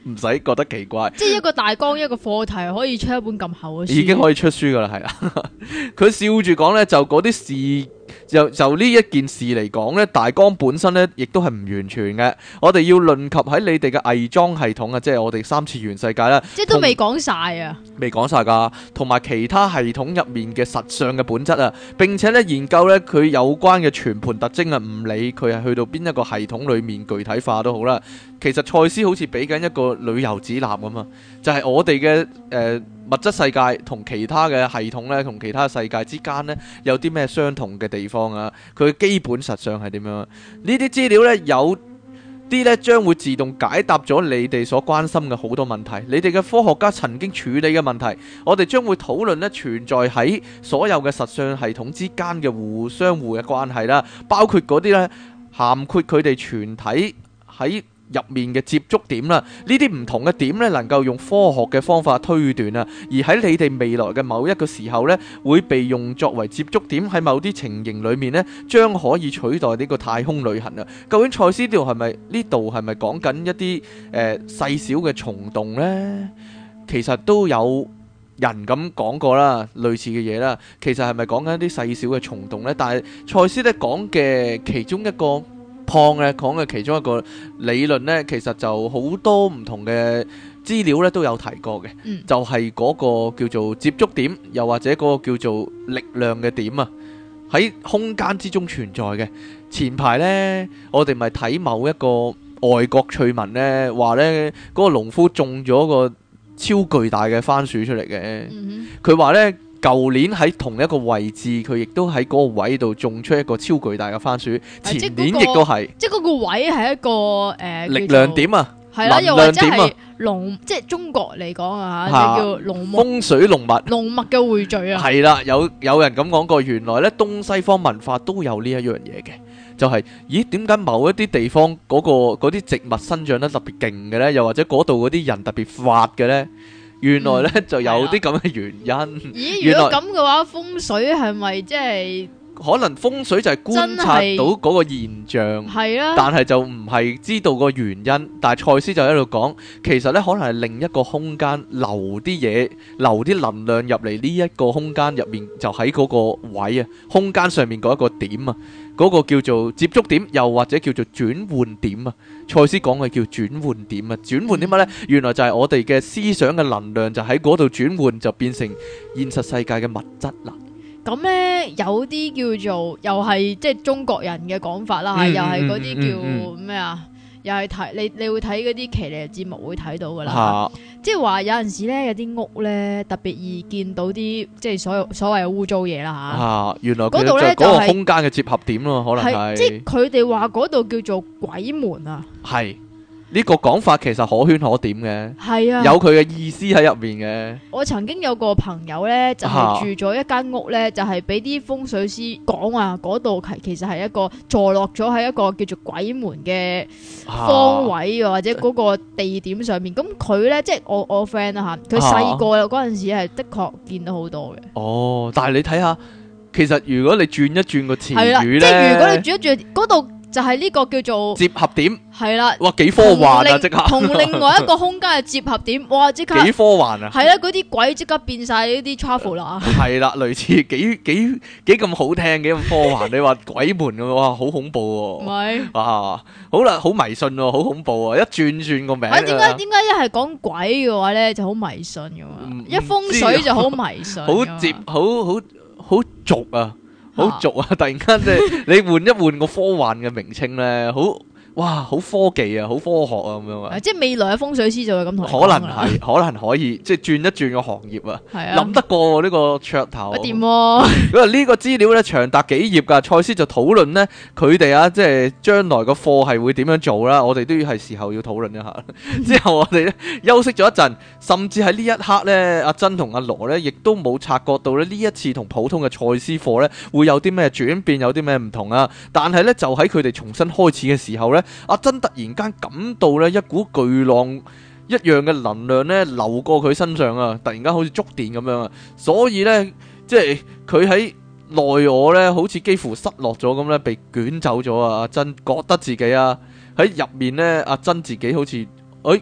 唔使覺得奇怪。 即係一個大綱一個課題可以出一本咁厚嘅書， 已經可以出書噶啦，係啦。佢笑住講呢，就嗰啲事。就呢一件事嚟講呢，大綱本身呢亦都係唔完全嘅。我哋要論及喺你哋嘅偽裝系統啊，即係我哋三次元世界啦， 即係都未講晒啊， 未講晒噶，同埋其他系統入面嘅實相嘅本質啊，並且呢研究呢佢有關嘅全盤特徵啊，唔理佢係去到邊一個系統裏面具體化都好啦。其實賽斯好似俾緊一個旅遊指南咁啊，就係我哋嘅物質世界同其他嘅系統呢，同其他世界之間呢，有啲咩相同嘅地方啊？佢基本實相係點樣？呢啲資料呢，有啲呢將會自動解答咗你哋所關心嘅好多問題。你哋嘅科學家曾經處理嘅問題，我哋將會討論呢存在喺所有嘅實相系統之間嘅相互嘅關係啦，包括嗰啲呢，涵括佢哋全體喺入面嘅接觸點啦，呢啲唔同嘅點呢，能夠用科學嘅方法推斷啊，而喺你哋未來嘅某一個時候呢，會被用作為接觸點，喺某啲情形裏面呢，將可以取代呢個太空旅行啊。究竟賽斯呢度係咪講緊一啲細小嘅蟲洞呢？其實都有人咁講過啦，類似嘅嘢啦。其實係咪講緊一啲細小嘅蟲洞呢？但係賽斯呢講嘅其中一個講嘅其中一個理論呢，其實就好多唔同嘅資料呢都有提過嘅，就係嗰個叫做接觸點，又或者嗰個叫做力量嘅點啊，喺空間之中存在嘅。前排呢，我哋咪睇某一個外國趣聞呢，話呢嗰個農夫種咗個超巨大嘅番薯出嚟嘅，佢話呢，舊年喺同一個位置，佢亦都喺嗰個位度種出一個超巨大嘅番薯。前年亦都係，即係嗰個位係一個力量點啊，係啦，又或者係即係中國嚟講啊嚇，就叫龍脈風水龍脈嘅匯聚啊。係啦，有人咁講過，原來咧東西方文化都有呢一樣嘢嘅，就係咦點解某一啲地方嗰啲植物生長得特別勁嘅咧？又或者嗰度嗰啲人特別發嘅咧？原來咧就有啲咁嘅原因。咦？如果咁嘅話，風水係咪即係？可能風水就係觀察到嗰個現象，係啊，但係就唔係知道個原因。但係賽斯就喺度講，其實咧可能係另一個空間留啲嘢，留啲能量入嚟呢一個空間入面，就喺嗰個位啊，空間上面嗰一個點啊，嗰個叫做接觸點，又或者叫做轉換點啊。賽斯講嘅叫轉換點啊，轉換啲乜呢？原來就係我哋嘅思想嘅能量就喺嗰度轉換，就變成現實世界嘅物質啦。咁呢，有啲叫做又係即係中國人嘅講法啦，又係嗰啲叫咩啊？又係睇你會睇嗰啲騎呢節目會睇到噶啦，即係話有陣時呢，有啲屋呢特別易見到啲即係所謂嘅污糟嘢啦嚇。原來嗰度呢，就係嗰個空間嘅接合點咯，可能係即係佢哋話嗰度叫做鬼門啊。係。呢個講法其實可圈可點嘅，係啊，有佢嘅意思喺入面嘅。我曾經有個朋友呢，就係住咗一間屋呢，就係俾啲風水師講話嗰度其實係一個坐落咗喺一個叫做鬼門嘅方位，或者嗰個地點上面。咁佢呢，即係我 friend 啦嚇，佢細個嗰陣時係的確見到好多嘅。哦，但係你睇下，其實如果你轉一轉個詞語呢，即係如果你轉一轉嗰度。就係呢個叫做接合點，係啦，哇幾科幻啊！即刻同另外一個空間嘅接合點，哇即刻幾科幻啊！係啦，嗰啲鬼即刻變晒呢啲 travel 啦，係啦，類似幾咁好聽，幾咁科幻。你話鬼門嘅哇，好恐怖喎！唔係啊，好啦，好迷信喎，好恐怖啊！一轉個名，點解一係講鬼嘅話咧就好迷信嘅嘛？一風水就好迷信，好接好俗啊！好俗啊！突然間即係你換一換個科幻嘅名稱咧，好科技啊，好科學啊咁樣啊！即係未來嘅風水師就會咁同你講啦。可能可以即係轉一轉個行業啊！諗得過呢個噱頭。掂喎！因為呢個資料咧長達幾頁㗎，賽斯就討論呢，佢哋啊，即係將來個課係會點樣做啦。我哋都要係時候要討論一下。之後我哋咧休息咗一陣，甚至喺呢一刻咧，阿珍同阿羅咧亦都冇察覺到咧呢一次同普通嘅賽斯課咧會有啲咩轉變，有啲咩唔同啊！但係咧就喺佢哋重新開始嘅時候咧。阿珍突然間感到咧一股巨浪一樣嘅能量咧流過佢身上啊！突然間好似觸電咁樣啊！所以咧即係佢喺內我咧好似幾乎失落咗咁咧，被捲走咗啊！阿珍覺得自己啊喺入面咧，阿珍自己好似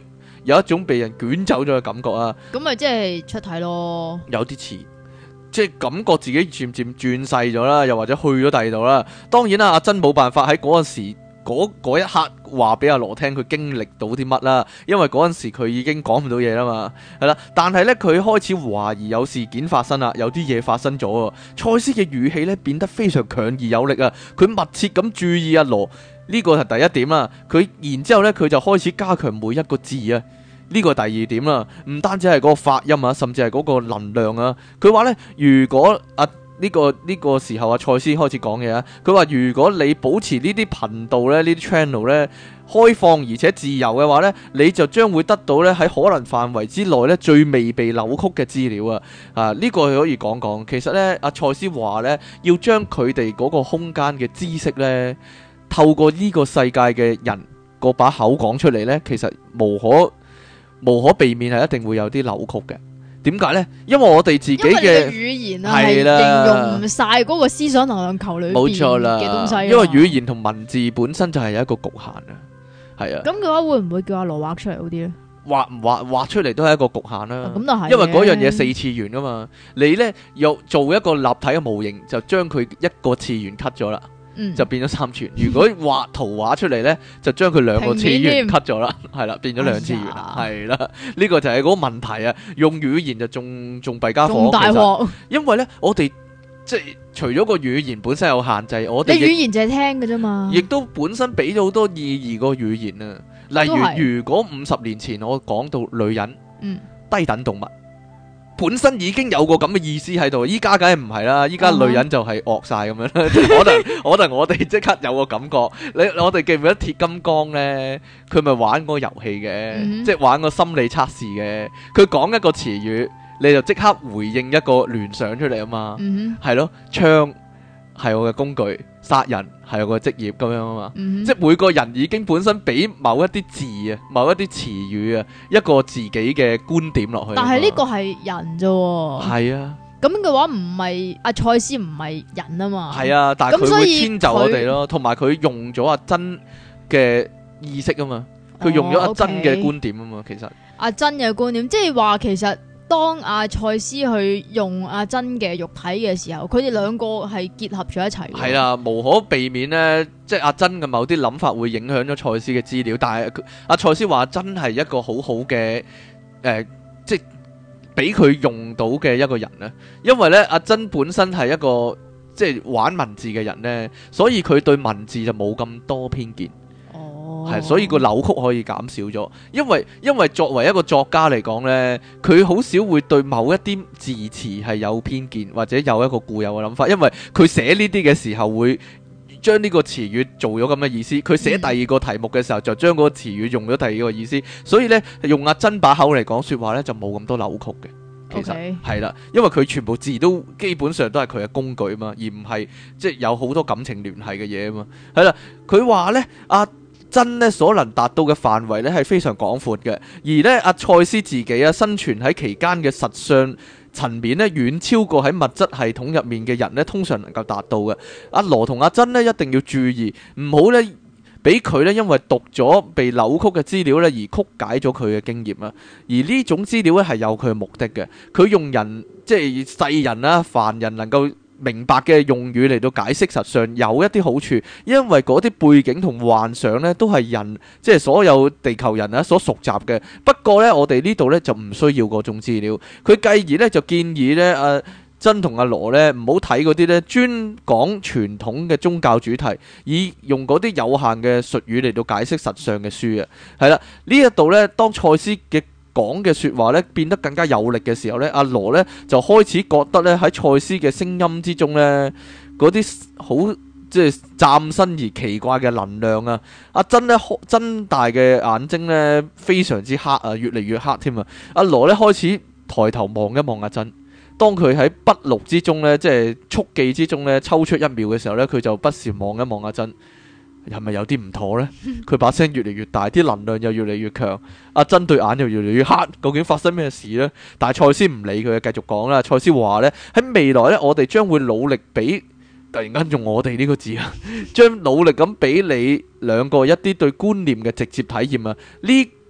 有一種被人捲走咗嘅感覺啊。 咁咪即係出體咯， 有啲似。即係感覺自己漸漸轉細咗啦，又或者去咗第二度啦。當然啦，阿珍冇辦法喺嗰陣時嗰一刻話俾阿羅聽佢經歷到啲乜啦，因為嗰陣時佢已經講唔到嘢啦嘛，係啦。但係呢，佢開始懷疑有事件發生啦，有啲嘢發生咗。賽斯嘅語氣呢變得非常強而有力啊，佢密切咁注意阿羅，呢個係第一點啦。佢然之後呢，佢就開始加強每一個字啊。呢個第二點啦，唔單止係嗰個發音啊，甚至係嗰個能量啊。佢話呢，如果呢個時候賽斯開始講嘢啊，佢話如果你保持呢啲頻道呢，呢啲 channel 呢開放而且自由嘅話呢，你就將會得到呢喺可能範圍之內呢最未被扭曲嘅資料啊！呢個可以講講。其實呢，賽斯話呢，要將佢哋嗰個空間嘅知識呢，透過呢個世界嘅人嗰把口講出嚟呢，其實無可避免係一定會有啲扭曲嘅。點解呢？因為我哋自己嘅語言係形容唔晒嗰個思想能量球裏邊冇錯啦嘅東西。 因為語言同文字本身就係有一個局限啊。係啊。 咁嘅話會唔會叫阿羅畫出嚟好啲呢？ 畫出嚟都係一個局限啦。 咁就係， 因為嗰樣嘢四次元噶嘛。你呢又做一個立體嘅模型，就將佢一個次元 cut 咗啦。就變咗三次元。如果畫圖畫出嚟呢，就將佢兩個次元 cut 咗啦，係啦，變咗兩次元啦，係啦。呢個就係嗰個問題啊！用語言就仲弊家伙， 大鑊。因為呢，我哋即係除咗個語言本身有限制，我哋你語言就係聽嘅啫嘛， 亦都本身俾咗好多意義個語言啊。例如，如果50年前我講到女人，低等動物。本身已經有個咁嘅意思喺度，依家梗係唔係啦，依家女人就係惡晒咁樣啦。可能我哋即刻有個感覺，我哋記唔記得鐵金剛呢？佢咪玩個遊戲嘅，即係玩個心理測試嘅。佢講一個詞語，你就即刻回應一個聯想出嚟啊嘛。係咯，槍係我嘅工具，殺人係我嘅職業咁樣啊嘛。即係每個人已經本身俾某一啲字啊，某一啲詞語啊，一個自己嘅觀點落去。但係呢個係人啫。係啊。咁嘅話唔係阿賽斯唔係人啊嘛。係啊，但係佢會遷就我哋咯，同埋佢用咗阿珍嘅意識啊嘛，佢用咗阿珍嘅觀點啊嘛，其實。阿珍嘅觀點，即係話其實。當阿賽斯去用阿珍嘅肉體嘅時候，佢哋兩個係結合咗一齊。係啦，無可避免呢，即係阿珍嘅某啲諗法會影響咗賽斯嘅資料。但係阿賽斯話真係一個好好嘅即係俾佢用到嘅一個人呢。因為呢，阿珍本身係一個即係玩文字嘅人呢，所以佢對文字就冇咁多偏見。係，所以個扭曲可以減少咗，因為作為一個作家嚟講呢，佢好少會對某一啲字詞係有偏見或者有一個固有嘅諗法，因為佢寫呢啲嘅時候會將呢個詞語做咗咁嘅意思，佢寫第二個題目嘅時候就將嗰個詞語用咗第二個意思，所以呢，用阿珍把口嚟講說話呢，就冇咁多扭曲嘅。其實係啦，因為佢全部字都基本上都係佢嘅工具嘛，而唔係即係有好多感情聯繫嘅嘢啊嘛。係啦，佢話呢，真咧所能達到嘅範圍咧係非常廣闊嘅，而咧阿賽斯自己啊生存喺期間嘅實相層面咧遠超過喺物質系統入面嘅人咧通常能夠達到嘅。阿羅同阿珍咧一定要注意，唔好咧俾佢咧因為讀咗被扭曲嘅資料咧而曲解咗佢嘅經驗啊。而呢種資料咧係有佢嘅目的嘅，佢用人即係世人啦、凡人能夠明白嘅用語嚟到解釋實上有一啲好處，因為嗰啲背景同幻想呢都係人即係所有地球人啊所熟習嘅。不過呢，我哋呢度呢就唔需要嗰種資料。佢繼而呢就建議呢阿珍同阿羅呢唔好睇嗰啲呢專講傳統嘅宗教主題，以用嗰啲有限嘅術語嚟到解釋實上嘅書啊。係啦，呢一度呢當賽斯嘅講嘅說話咧變得更加有力嘅時候咧，阿羅咧就開始覺得咧喺賽斯嘅聲音之中咧嗰啲好即係嶄新而奇怪嘅能量啊！阿珍咧睜大嘅眼睛咧非常之黑啊，越嚟越黑添啊！阿羅咧開始抬頭望一望阿珍，當佢喺筆錄之中咧即係速記之中咧抽出1秒嘅時候咧，佢就不時望一望阿珍。係咪有啲唔妥呢？佢把聲越嚟越大，啲能量又越嚟越強。阿珍對眼又越嚟越黑，究竟發生咩事呢？但係賽斯唔理佢，繼續講啦。賽斯話呢，喺未來呢，我哋將會努力俾，突然間用我哋呢個字啊，將努力咁俾你兩個一啲對觀念嘅直接體驗啊。呢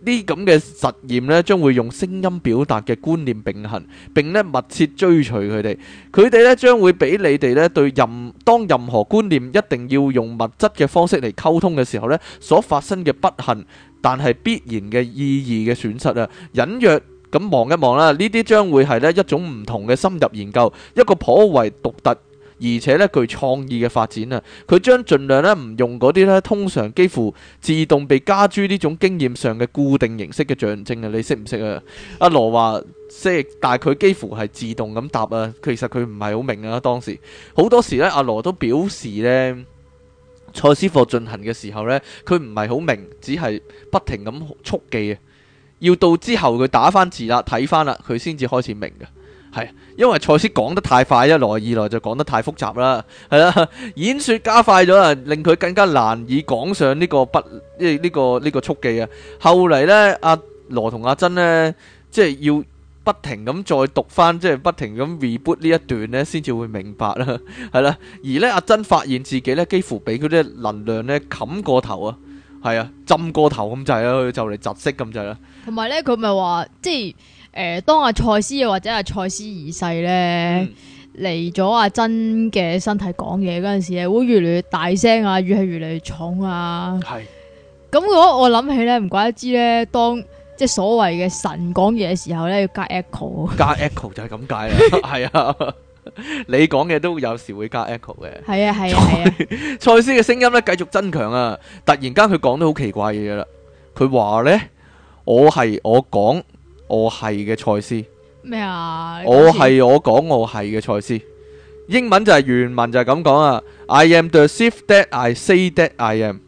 啲咁嘅實驗呢，將會用聲音表達嘅觀念並行，並呢密切追隨佢哋。佢哋呢將會俾你哋呢對當任何觀念一定要用物質嘅方式嚟溝通嘅時候呢，所發生嘅不幸，但係必然嘅意義嘅損失啊，隱約咁望一望啦。呢啲將會係呢一種唔同嘅深入研究，一個頗為獨特而且咧具創意嘅發展啊！佢將盡量咧唔用嗰啲咧通常幾乎自動被加諸呢種經驗上嘅固定形式嘅象徵啊！你識唔識啊？阿羅話識，但係佢幾乎係自動咁答啊！其實佢唔係好明啊。當時好多時咧，阿羅都表示咧，賽斯課進行嘅時候咧，佢唔係好明，只係不停咁速記啊！要到之後佢打翻字啦，睇翻啦，佢先至開始明嘅。係，因為賽斯講得太快，一來二來就講得太複雜啦，係啦，演說加快咗啊，令佢更加難以講上呢個呢個速記啊。後嚟呢，阿羅同阿珍呢，即係要不停咁再讀翻，即係不停咁 reboot 呢一段呢，先至會明白啦，係啦。而呢，阿珍發現自己呢，幾乎俾佢啲能量呢冚過頭啊，係啊，浸過頭咁滯啦，佢就嚟窒息咁滯啦。 同埋呢，佢咪話即係。當阿賽斯或者阿賽斯二世咧嚟咗阿珍嘅身體講嘢嗰陣時咧，會越嚟越大聲啊，語氣越嚟越重啊。係咁，如果我諗起咧，唔怪得知咧，當即係所謂嘅神講嘢嘅時候咧，要加 echo。加 echo 就係咁解啦，係啊，你講嘅都有時會加 echo 嘅。係啊係啊係啊。賽斯嘅聲音咧繼續增強啊！突然間佢講得好奇怪嘅嘢啦，佢話咧：我講。我係嘅賽斯咩啊？我講我係嘅賽斯，英文就係原文就係咁講啊。I am the shift that I say that I am.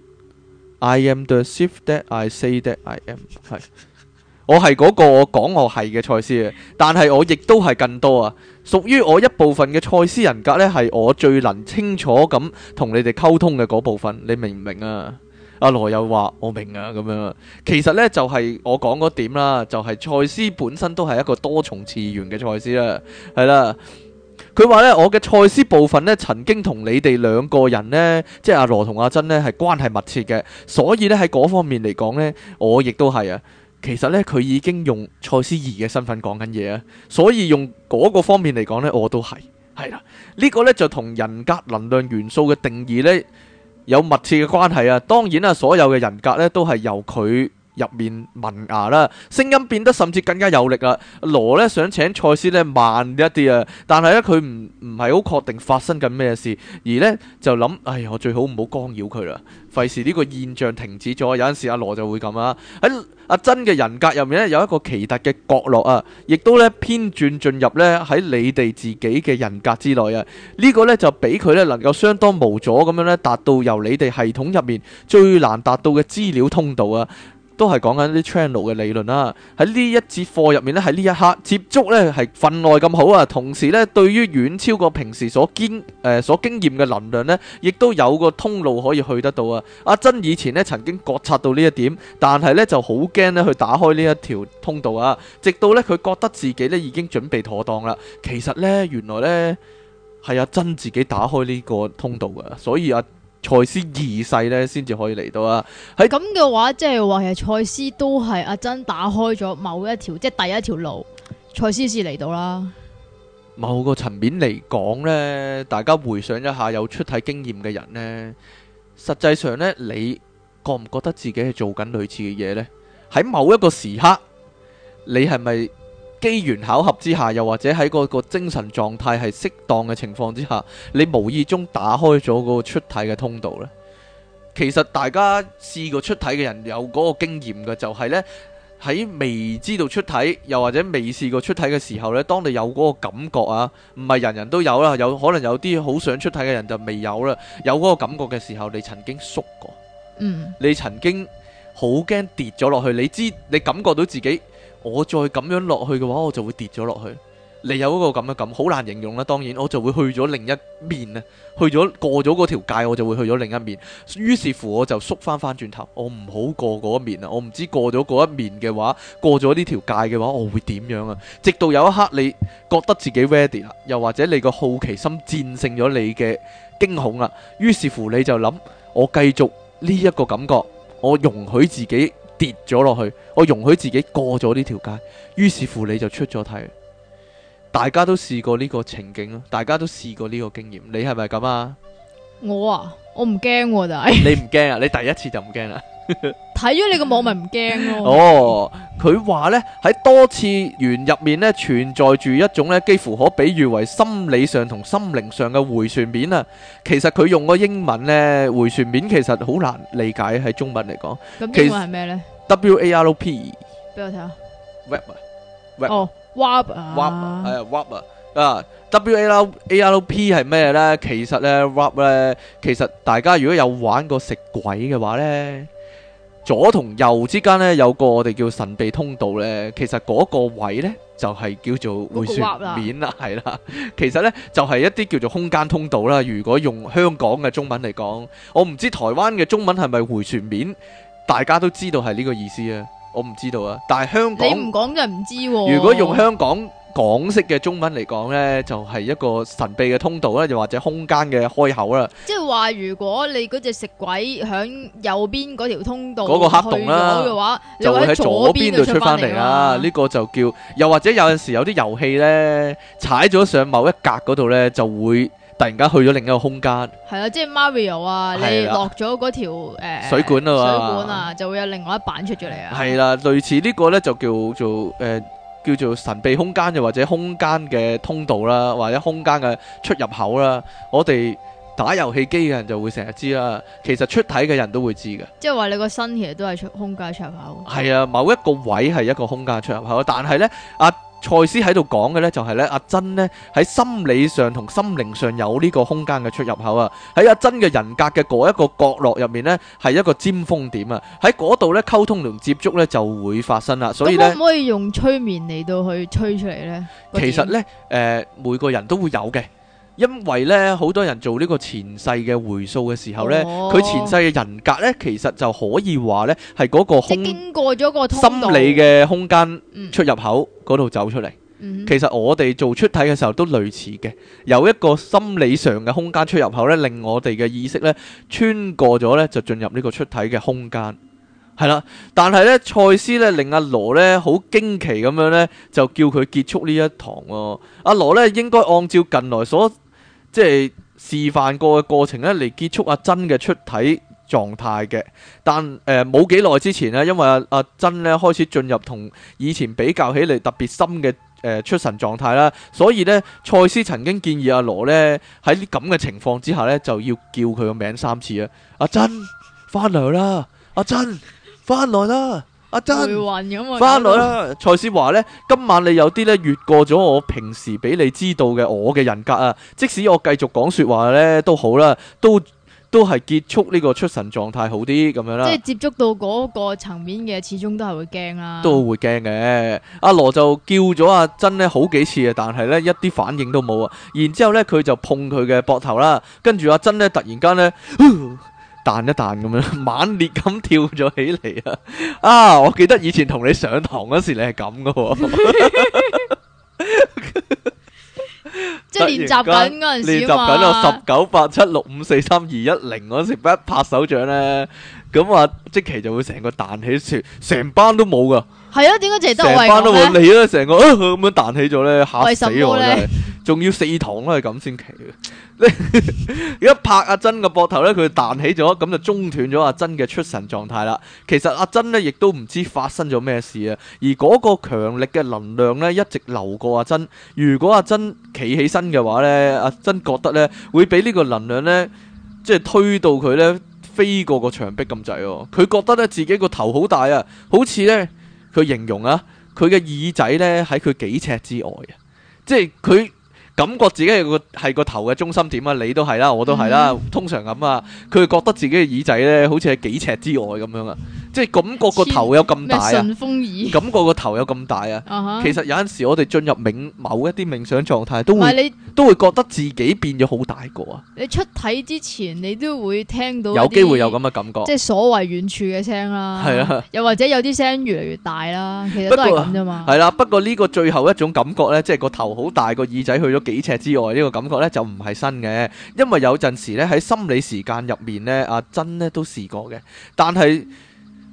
I am the shift that I say that I am。係，我係嗰個我講我係嘅賽斯啊，但係我亦都係更多啊。屬於我一部分嘅賽斯人格呢，係我最能清楚咁同你哋溝通嘅嗰部分。你明唔明啊？阿羅又話我明啊，咁樣其實呢，就係我講嗰點啦，就係賽斯本身都係一個多重次元嘅賽斯啦，係啦。佢話呢，我嘅賽斯部分呢，曾經同你哋兩個人呢，即係阿羅同阿珍呢，係關係密切嘅，所以呢，喺嗰方面嚟講呢，我亦都係啊。其實呢，佢已經用賽斯二嘅身份講緊嘢啊，所以用嗰個方面嚟講呢，我都係啦。呢個呢，就同人格能量元素嘅定義呢，有密切嘅關係啊！當然啦，所有嘅人格咧都係由佢入面萌芽啦，聲音變得甚至更加有力啊！羅咧想請賽斯咧慢一啲啊，但係咧佢唔係好確定發生緊咩事，而咧就諗，哎呀，我最好唔好干擾佢啦，費事呢個現象停止咗。有陣時阿羅就會咁啊，喺阿珍嘅人格入面咧有一個奇特嘅角落啊，亦都咧偏轉進入咧喺你哋自己嘅人格之內啊。呢個咧就俾佢咧能夠相當無阻咁樣咧達到由你哋系統入面最難達到嘅資料通道啊。都係講緊啲 channel 嘅理論啦。喺呢一節課入面咧，喺呢一刻接觸咧係分外咁好啊。同時咧，對於遠超過平時所經驗嘅能量咧，亦都有個通路可以去得到啊。阿珍以前咧曾經覺察到呢一點，但係咧就好驚咧去打開呢一條通道啊。直到咧佢覺得自己咧已經準備妥當啦。其實咧原來咧係阿珍自己打開呢個通道噶，所以賽斯二世咧先至可以嚟到啊！喺咁嘅話，即係話其實賽斯都係阿珍打開咗某一條，即係第一條路，賽斯先嚟到啦。某個層面嚟講呢，大家回想一下有出體經驗嘅人呢，實際上呢，你覺唔覺得自己係做緊類似嘅嘢呢？喺某一個時刻，你係咪機緣巧合之下，又或者喺嗰個精神狀態係適當嘅情況之下，你無意中打開咗嗰個出體嘅通道呢？其實大家試過出體嘅人有嗰個經驗嘅，就係呢：喺未知道出體，又或者未試過出體嘅時候呢，當你有嗰個感覺啊，唔係人人都有啦，有可能有啲好想出體嘅人就未有啦。有嗰個感覺嘅時候，你曾經縮過，你曾經好驚跌咗落去，你感覺到自己。我再咁樣落去嘅話，我就會跌咗落去。你有嗰個咁嘅感，好難形容啦。當然，我就會去咗另一面啊，過咗嗰條界，我就會去咗另一面。於是乎，我就縮翻轉頭，我唔好過嗰一面啊。我唔知過咗嗰一面嘅話，過咗呢條界嘅話，我會點樣啊？直到有一刻你覺得自己 ready 啦，又或者你個好奇心戰勝咗你嘅驚恐啦。於是乎，你就諗，我繼續呢一個感覺，我容許自己跌咗落去，我容許自己過咗呢條街，於是乎你就出咗體。大家都試過呢個情景咯，大家都試過呢個經驗，你係咪咁啊？ 我唔驚，但係你唔驚啊？你第一次就唔驚啦？ 睇咗你個網咪唔驚咯。 哦，佢話呢，喺多次元入面呢，存在住一種呢幾乎可比喻為心理上同心靈上嘅回旋面啊。其實佢用個英文呢，回旋面其實好難理解喺中文嚟講。 咁英文係咩呢？ WARP 俾我睇下。 Web 哦 ，warp 啊， 係啊 warp 啊。WARP 係咩呢？其實呢 warp 呢，其實大家如果有玩過食鬼嘅話呢，左同右之間呢，有個我哋叫神秘通道呢，其實嗰個位呢，就係叫做回旋面啦，係啦。其實呢，就係一啲叫做空間通道啦。如果用香港嘅中文嚟講，我唔知台灣嘅中文係咪回旋面，大家都知道係呢個意思啊。我唔知道啊，但係香港你唔講就唔知喎。 如果用香港港式嘅中文嚟講呢，就係一個神秘嘅通道啦，又或者空間嘅開口啦。 即係話，如果你嗰隻食鬼響右邊嗰條通道嗰個黑洞啦嘅話， 就會喺左邊度出翻嚟啦。呢個就叫，又或者有陣時有啲遊戲呢，踩咗上某一格嗰度呢，就會突然間去咗另一個空間。係啊，即係 Mario 啊，你落咗嗰條水管啊，就會有另外一版出咗嚟啊。 係啦，類似呢個呢，就叫做神秘空間，又或者空間嘅通道啦，或者空間嘅出入口啦。我哋打遊戲機嘅人就會成日知啦，其實出體嘅人都會知嘅。 即係話你個身其實都係空間出入口。 係啊，某一個位係一個空間出入口，但係呢，賽斯喺度講嘅呢，就係呢，阿珍呢喺心理上同心靈上有呢個空間嘅出入口啊。喺阿珍嘅人格嘅嗰一個角落入面呢，係一個尖峰點啊。喺嗰度呢，溝通同接觸呢就會發生啦。所以呢， 可唔可以用催眠嚟到去吹出嚟呢？ 其實呢，每個人都會有嘅。因為咧，好多人做呢個前世嘅回溯嘅時候咧，佢前世嘅人格咧，其實就可以話咧係嗰個經過咗個通道心理嘅空間出入口嗰度走出嚟。其實我哋做出體嘅時候都類似嘅，有一個心理上嘅空間出入口咧，令我哋嘅意識咧穿過咗咧，就進入呢個出體嘅空間。係啦，但係咧，賽斯咧令阿羅咧好驚奇咁樣咧，就叫佢結束呢一堂喎。阿羅咧應該按照近來所即係示範過嘅過程咧嚟結束阿珍嘅出體狀態嘅，但冇幾耐之前咧，因為阿珍咧開始進入同以前比較起嚟特別深嘅出神狀態啦，所以咧賽斯曾經建議阿羅咧喺咁嘅情況之下咧就要叫佢個名3次啊！阿珍翻嚟啦，阿珍翻來啦，阿珍翻來啦！賽斯話呢，今晚你有啲呢越過咗我平時俾你知道嘅我嘅人格啊，即使我繼續講說話呢都好啦，都係結束呢個出神狀態好啲咁樣啦。即係接觸到嗰個層面嘅，始終都係會驚啦。都會驚嘅。阿羅就叫咗阿珍呢好幾次啊，但係呢一啲反應都冇啊。然之後呢佢就碰佢嘅膊頭啦，跟住阿珍呢突然間呢彈一彈咁樣，猛烈咁跳咗起嚟啊！啊，我記得以前同你上堂嗰時，你係咁噶， 即係練習緊嗰陣時啊嘛。 練習緊啊，19、8、7、6、5、4、3、2、1、0嗰時，一拍手掌咧，咁啊，即期就會成個彈起，成班都冇噶。係啊，點解淨係得我係咁咧？成班都冇，你咧成個咁樣彈起咗咧，嚇死我真係！仲要4堂都係咁先奇嘅。一拍阿珍個膊頭咧，佢彈起咗，咁就中斷咗阿珍嘅出神狀態啦。其實阿珍咧亦都唔知發生咗咩事啊。而嗰個強力嘅能量咧，一直流過阿珍。如果阿珍企起身嘅話咧，阿珍覺得咧會俾呢個能量咧，即係推到佢咧飛過個牆壁咁滯喎。佢覺得咧自己個頭好大啊，好似咧佢形容啊，佢嘅耳仔咧喺佢幾尺之外啊，即係佢感覺自己係個頭嘅中心點啊！你都係啦，我都係啦，通常咁啊。佢覺得自己嘅耳仔咧，好似喺幾尺之外咁樣啊，即係感覺個頭有咁大啊！順風耳，感覺個頭有咁大啊！其實有陣時我哋進入某一啲冥想狀態，都會覺得自己變咗好大個啊！你出體之前，你都會聽到有機會有咁嘅感覺，即係所謂遠處嘅聲啦，係啊，又或者有啲聲越嚟越大啦，其實都係咁啫嘛。係啦，不過呢個最後一種感覺咧，即係個頭好大，個耳仔去咗幾尺之外，呢個感覺呢就唔係新嘅，因為有陣時呢喺心理時間入面呢，阿珍呢都試過嘅。但係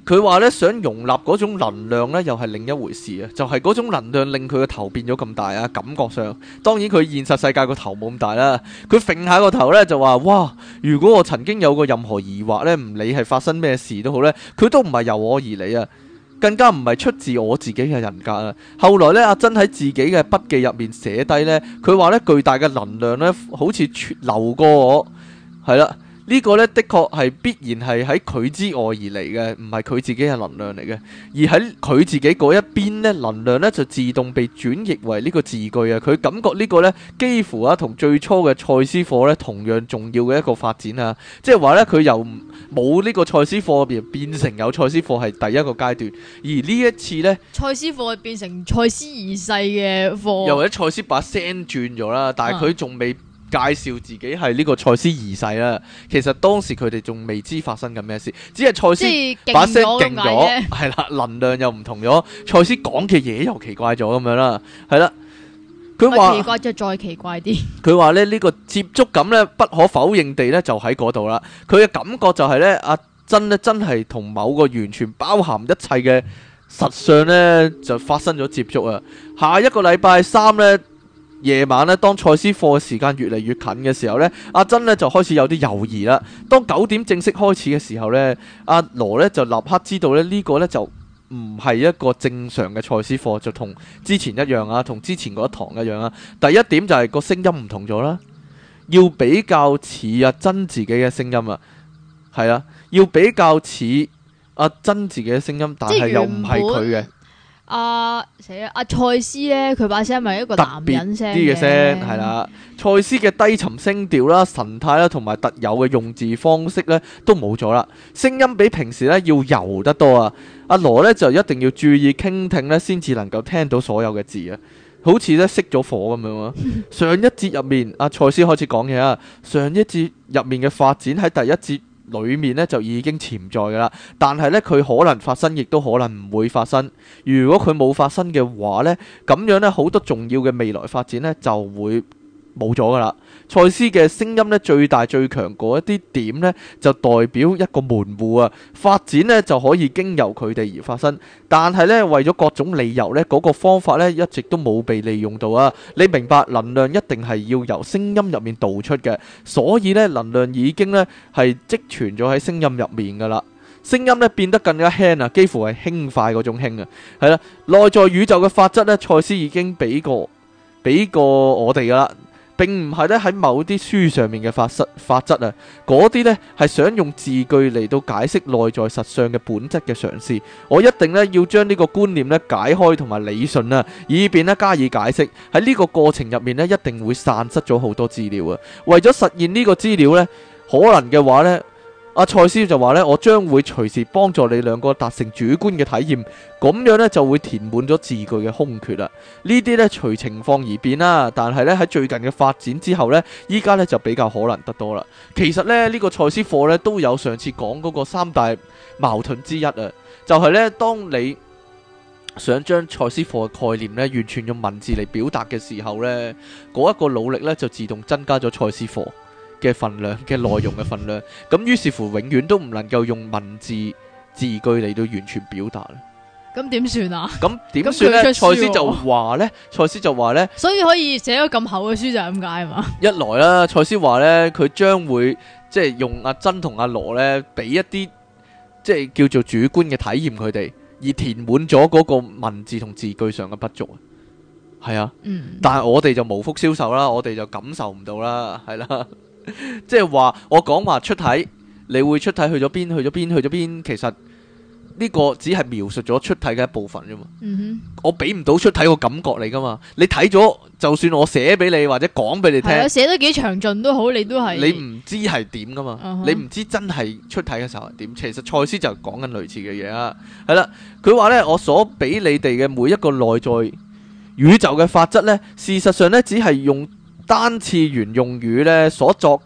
佢話咧想容納嗰種能量咧，又係另一回事啊！就係嗰種能量令佢個頭變咗咁大啊！感覺上，當然佢現實世界個頭冇咁大啦。佢揈下個頭咧就話：哇！如果我曾經有過任何疑惑咧，唔理係發生咩事都好咧，佢都唔係由我而嚟啊！更加唔係出自我自己嘅人格啊！後來咧，阿珍喺自己嘅筆記入面寫低咧，佢話咧巨大嘅能量咧，好似流過我，係啦。呢個呢，的確係必然係喺佢之外而嚟嘅，唔係佢自己嘅能量嚟嘅。而喺佢自己嗰一邊呢，能量呢就自動被轉譯為呢個字句啊。佢感覺呢個呢，幾乎啊同最初嘅賽斯課呢同樣重要嘅一個發展啊。即係話呢，佢由冇呢個賽斯課變成有賽斯課係第一個階段。而呢一次呢， 賽斯課變成賽斯二世嘅課， 又或者賽斯把聲轉咗啦，但係佢仲未介紹自己係呢個賽斯二世啦，其實當時佢哋仲未知發生緊咩事，只係賽斯把聲勁咗，係啦，能量又唔同咗，賽斯講嘅嘢又奇怪咗咁樣啦，係啦，佢話奇怪就再奇怪啲，佢話咧呢個接觸感咧不可否認地咧就喺嗰度啦，佢嘅感覺就係咧阿珍咧真係同某個完全包含一切嘅實相咧就發生咗接觸啊，下一個禮拜三咧。夜晚咧，當賽斯課嘅時間越嚟越近嘅時候呢，阿珍呢就開始有啲猶豫啦。當9點正式開始嘅時候呢，阿羅呢就立刻知道咧呢個呢就唔係一個正常嘅賽斯課，就同之前一樣啊，同之前嗰一堂一樣啊。第一點就係個聲音唔同咗啦，要比較似阿珍自己嘅聲音啊，係啊，要比較似阿珍自己嘅聲音，但係又唔係佢嘅。 死啦！阿賽斯咧，佢把聲係一個男人聲啲嘅聲，係啦。賽斯嘅低沉聲調啦、神態啦，同埋特有嘅用字方式咧，都冇咗啦。聲音比平時咧要柔得多啊。阿羅咧就一定要注意傾聽咧，先至能夠聽到所有嘅字啊。好似咧熄咗火咁樣啊。上一節入面，阿賽斯開始講嘢啊。上一節入面嘅發展喺第一節裏面咧就已經潛在噶啦，但係咧佢可能發生，亦都可能唔會發生。如果佢冇發生嘅話咧，咁樣咧好多重要嘅未來發展咧就會冇咗噶啦。賽斯嘅聲音咧最大最強嗰一啲點咧，就代表一個門戶啊，發展咧就可以經由佢哋而發生。但係咧為咗各種理由咧，嗰個方法咧一直都冇被利用到啊。你明白能量一定係要由聲音入面導出嘅，所以咧能量已經咧係積存咗喺聲音入面噶啦。聲音咧變得更加輕啊，幾乎係輕快嗰種輕啊。係啦，內在宇宙嘅法則咧，賽斯已經俾過我哋噶啦。並唔係咧喺某啲書上面嘅法則啊，嗰啲呢係想用字句嚟到解釋內在實相嘅本質嘅嘗試。我一定呢要將呢個觀念呢解開同埋理順啊，以便呢加以解釋。喺呢個過程入面呢，一定會散失咗好多資料啊。為咗實現呢個資料呢，可能嘅話呢，阿賽斯就話呢，我將會隨時幫助你兩個達成主觀嘅體驗，咁樣呢就會填滿咗字句嘅空缺啦。呢啲呢隨情況而變啦，但係呢喺最近嘅發展之後呢，依家呢就比較可能得多啦。其實呢，呢個賽斯課呢都有上次講嗰個三大矛盾之一啊，就係呢，當你想將賽斯課嘅概念呢完全用文字嚟表達嘅時候呢，嗰一個努力呢就自動增加咗賽斯課嘅份量嘅內容嘅份量，咁於是乎永遠都唔能夠用文字字句嚟到完全表達啦。 咁點算啊？ 咁點算呢？賽斯就話呢， 所以可以寫咗咁厚嘅書就係咁解係嘛？ 一來啦，賽斯話呢，佢將會即係用阿珍同阿羅呢，俾一啲即係叫做主觀嘅體驗佢哋，而填滿咗嗰個文字同字句上嘅不足。係啊，但係我哋就無福消受啦，我哋就感受唔到啦，係啦。即係話我講話出體，你會出體去咗邊？去咗邊？去咗邊？其實呢個只係描述咗出體嘅一部分啫嘛。我俾唔到出體個感覺你噶嘛。你睇咗，就算我寫俾你或者講俾你聽， 寫得幾詳盡都好，你都係你唔知係點噶嘛。你唔知真係出體嘅時候係點。其實賽斯就講緊類似嘅嘢啊。係啦，佢話呢，我所俾你哋嘅每一個內在宇宙嘅法則呢，事實上呢，只係用單次元用語咧所作嘅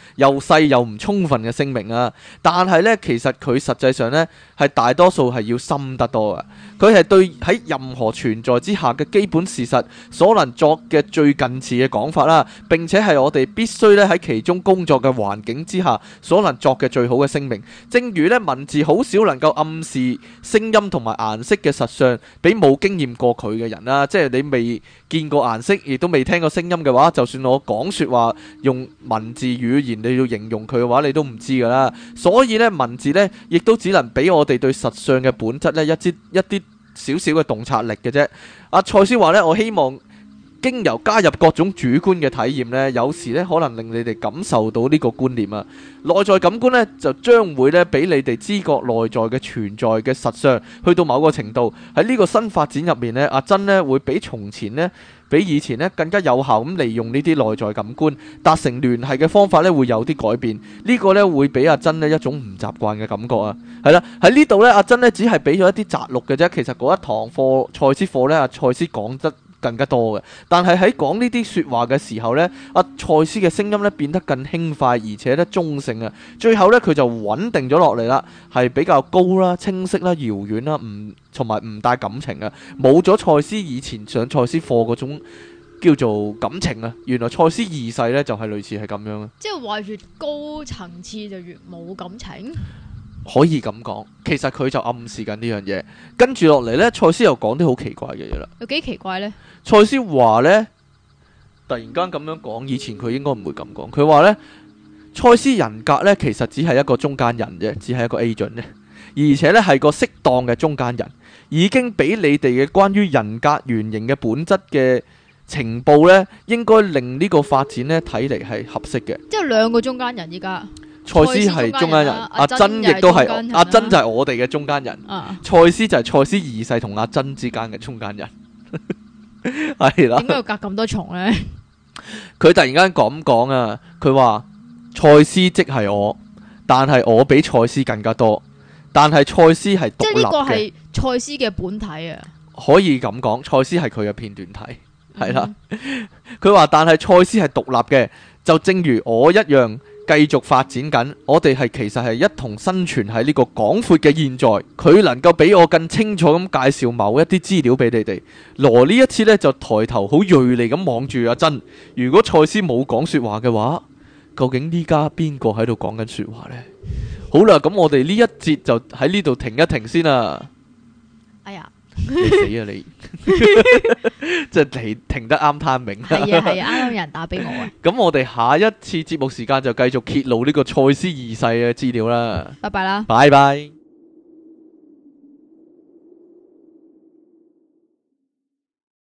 又細又唔充分嘅聲明啊。但係呢，其實佢實際上呢，係大多數係要深得多嘅。佢係對喺任何存在之下嘅基本事實所能作嘅最近似嘅講法啦，並且係我哋必須咧喺其中工作嘅環境之下所能作嘅最好嘅聲明。正如咧文字好少能夠暗示聲音同埋顏色嘅實相俾冇經驗過佢嘅人啦，即係你未見過顏色，亦都未聽過聲音嘅話，就算我講說話用文字語言你要形容佢嘅話，你都唔知噶啦。所以咧文字咧亦都只能俾我哋對實相嘅本質咧一啲少少嘅洞察力嘅啫。阿賽斯話咧，我希望經由加入各種主觀嘅體驗呢，有時呢可能令你哋感受到呢個觀念啊。內在感官呢，就將會呢俾你哋知覺內在嘅存在嘅實相，去到某個程度。喺呢個新發展入面呢，阿珍呢會比以前呢更加有效咁利用呢啲內在感官達成聯繫嘅方法呢，會有啲改變。呢個呢會俾阿珍呢一種唔習慣嘅感覺啊。係啦，喺呢度呢，阿珍呢只係俾咗一啲摘錄嘅啫。其實嗰一堂課賽斯課呢，阿賽斯講得更加多嘅，但係喺講呢啲說話嘅時候呢，阿賽斯嘅聲音呢變得更輕快，而且呢中性啊。最後呢，佢就穩定咗落嚟啦，係比較高啦、清晰啦、遙遠啦，同埋唔帶感情啊。冇咗賽斯以前上賽斯課嗰種叫做感情啊。原來賽斯二世呢就係類似係咁樣啊。 即係話越高層次就越冇感情。 可以咁講，其實佢就暗示緊呢樣嘢。跟住落嚟呢，賽斯又講啲好奇怪嘅嘢啦。 有幾奇怪呢？ 賽斯話呢，突然間咁樣講，以前佢應該唔會咁講。佢話呢，賽斯人格呢其實只係一個中間人啫，只係一個 agent 啫，而且呢係個適當嘅中間人，已經俾你哋嘅關於人格原型嘅本質嘅情報呢，應該令呢個發展呢睇嚟係合適嘅。 即係兩個中間人依家。 賽斯係中間人，阿珍亦都係，阿珍就係我哋嘅中間人，賽斯就係賽斯二世同阿珍之間嘅中間人，係啦。點解要隔咁多重呢？佢突然間咁講啊，佢話賽斯即係我，但係我比賽斯更加多，但係賽斯係獨立嘅。即係呢個係賽斯嘅本體啊。可以咁講，賽斯係佢嘅片段體，係啦。佢話但係賽斯係獨立嘅，就正如我一樣。繼續發展緊，我哋其實係一同生存喺呢個廣闊嘅現在。佢能夠比我更清楚咁介紹某一啲資料俾你哋。羅呢一次呢，就抬頭好銳利咁望住阿珍。如果賽斯冇講說話嘅話，究竟呢家邊個喺度講緊說話呢？好啦，咁我哋呢一節就喺呢度停一停先啦。哎呀！你死啊你！即係停得啱 timing。係啊係啊，啱啱有人打俾我啊。咁我哋下一次節目時間就繼續揭露呢個賽斯二世嘅資料啦。拜拜啦！拜拜。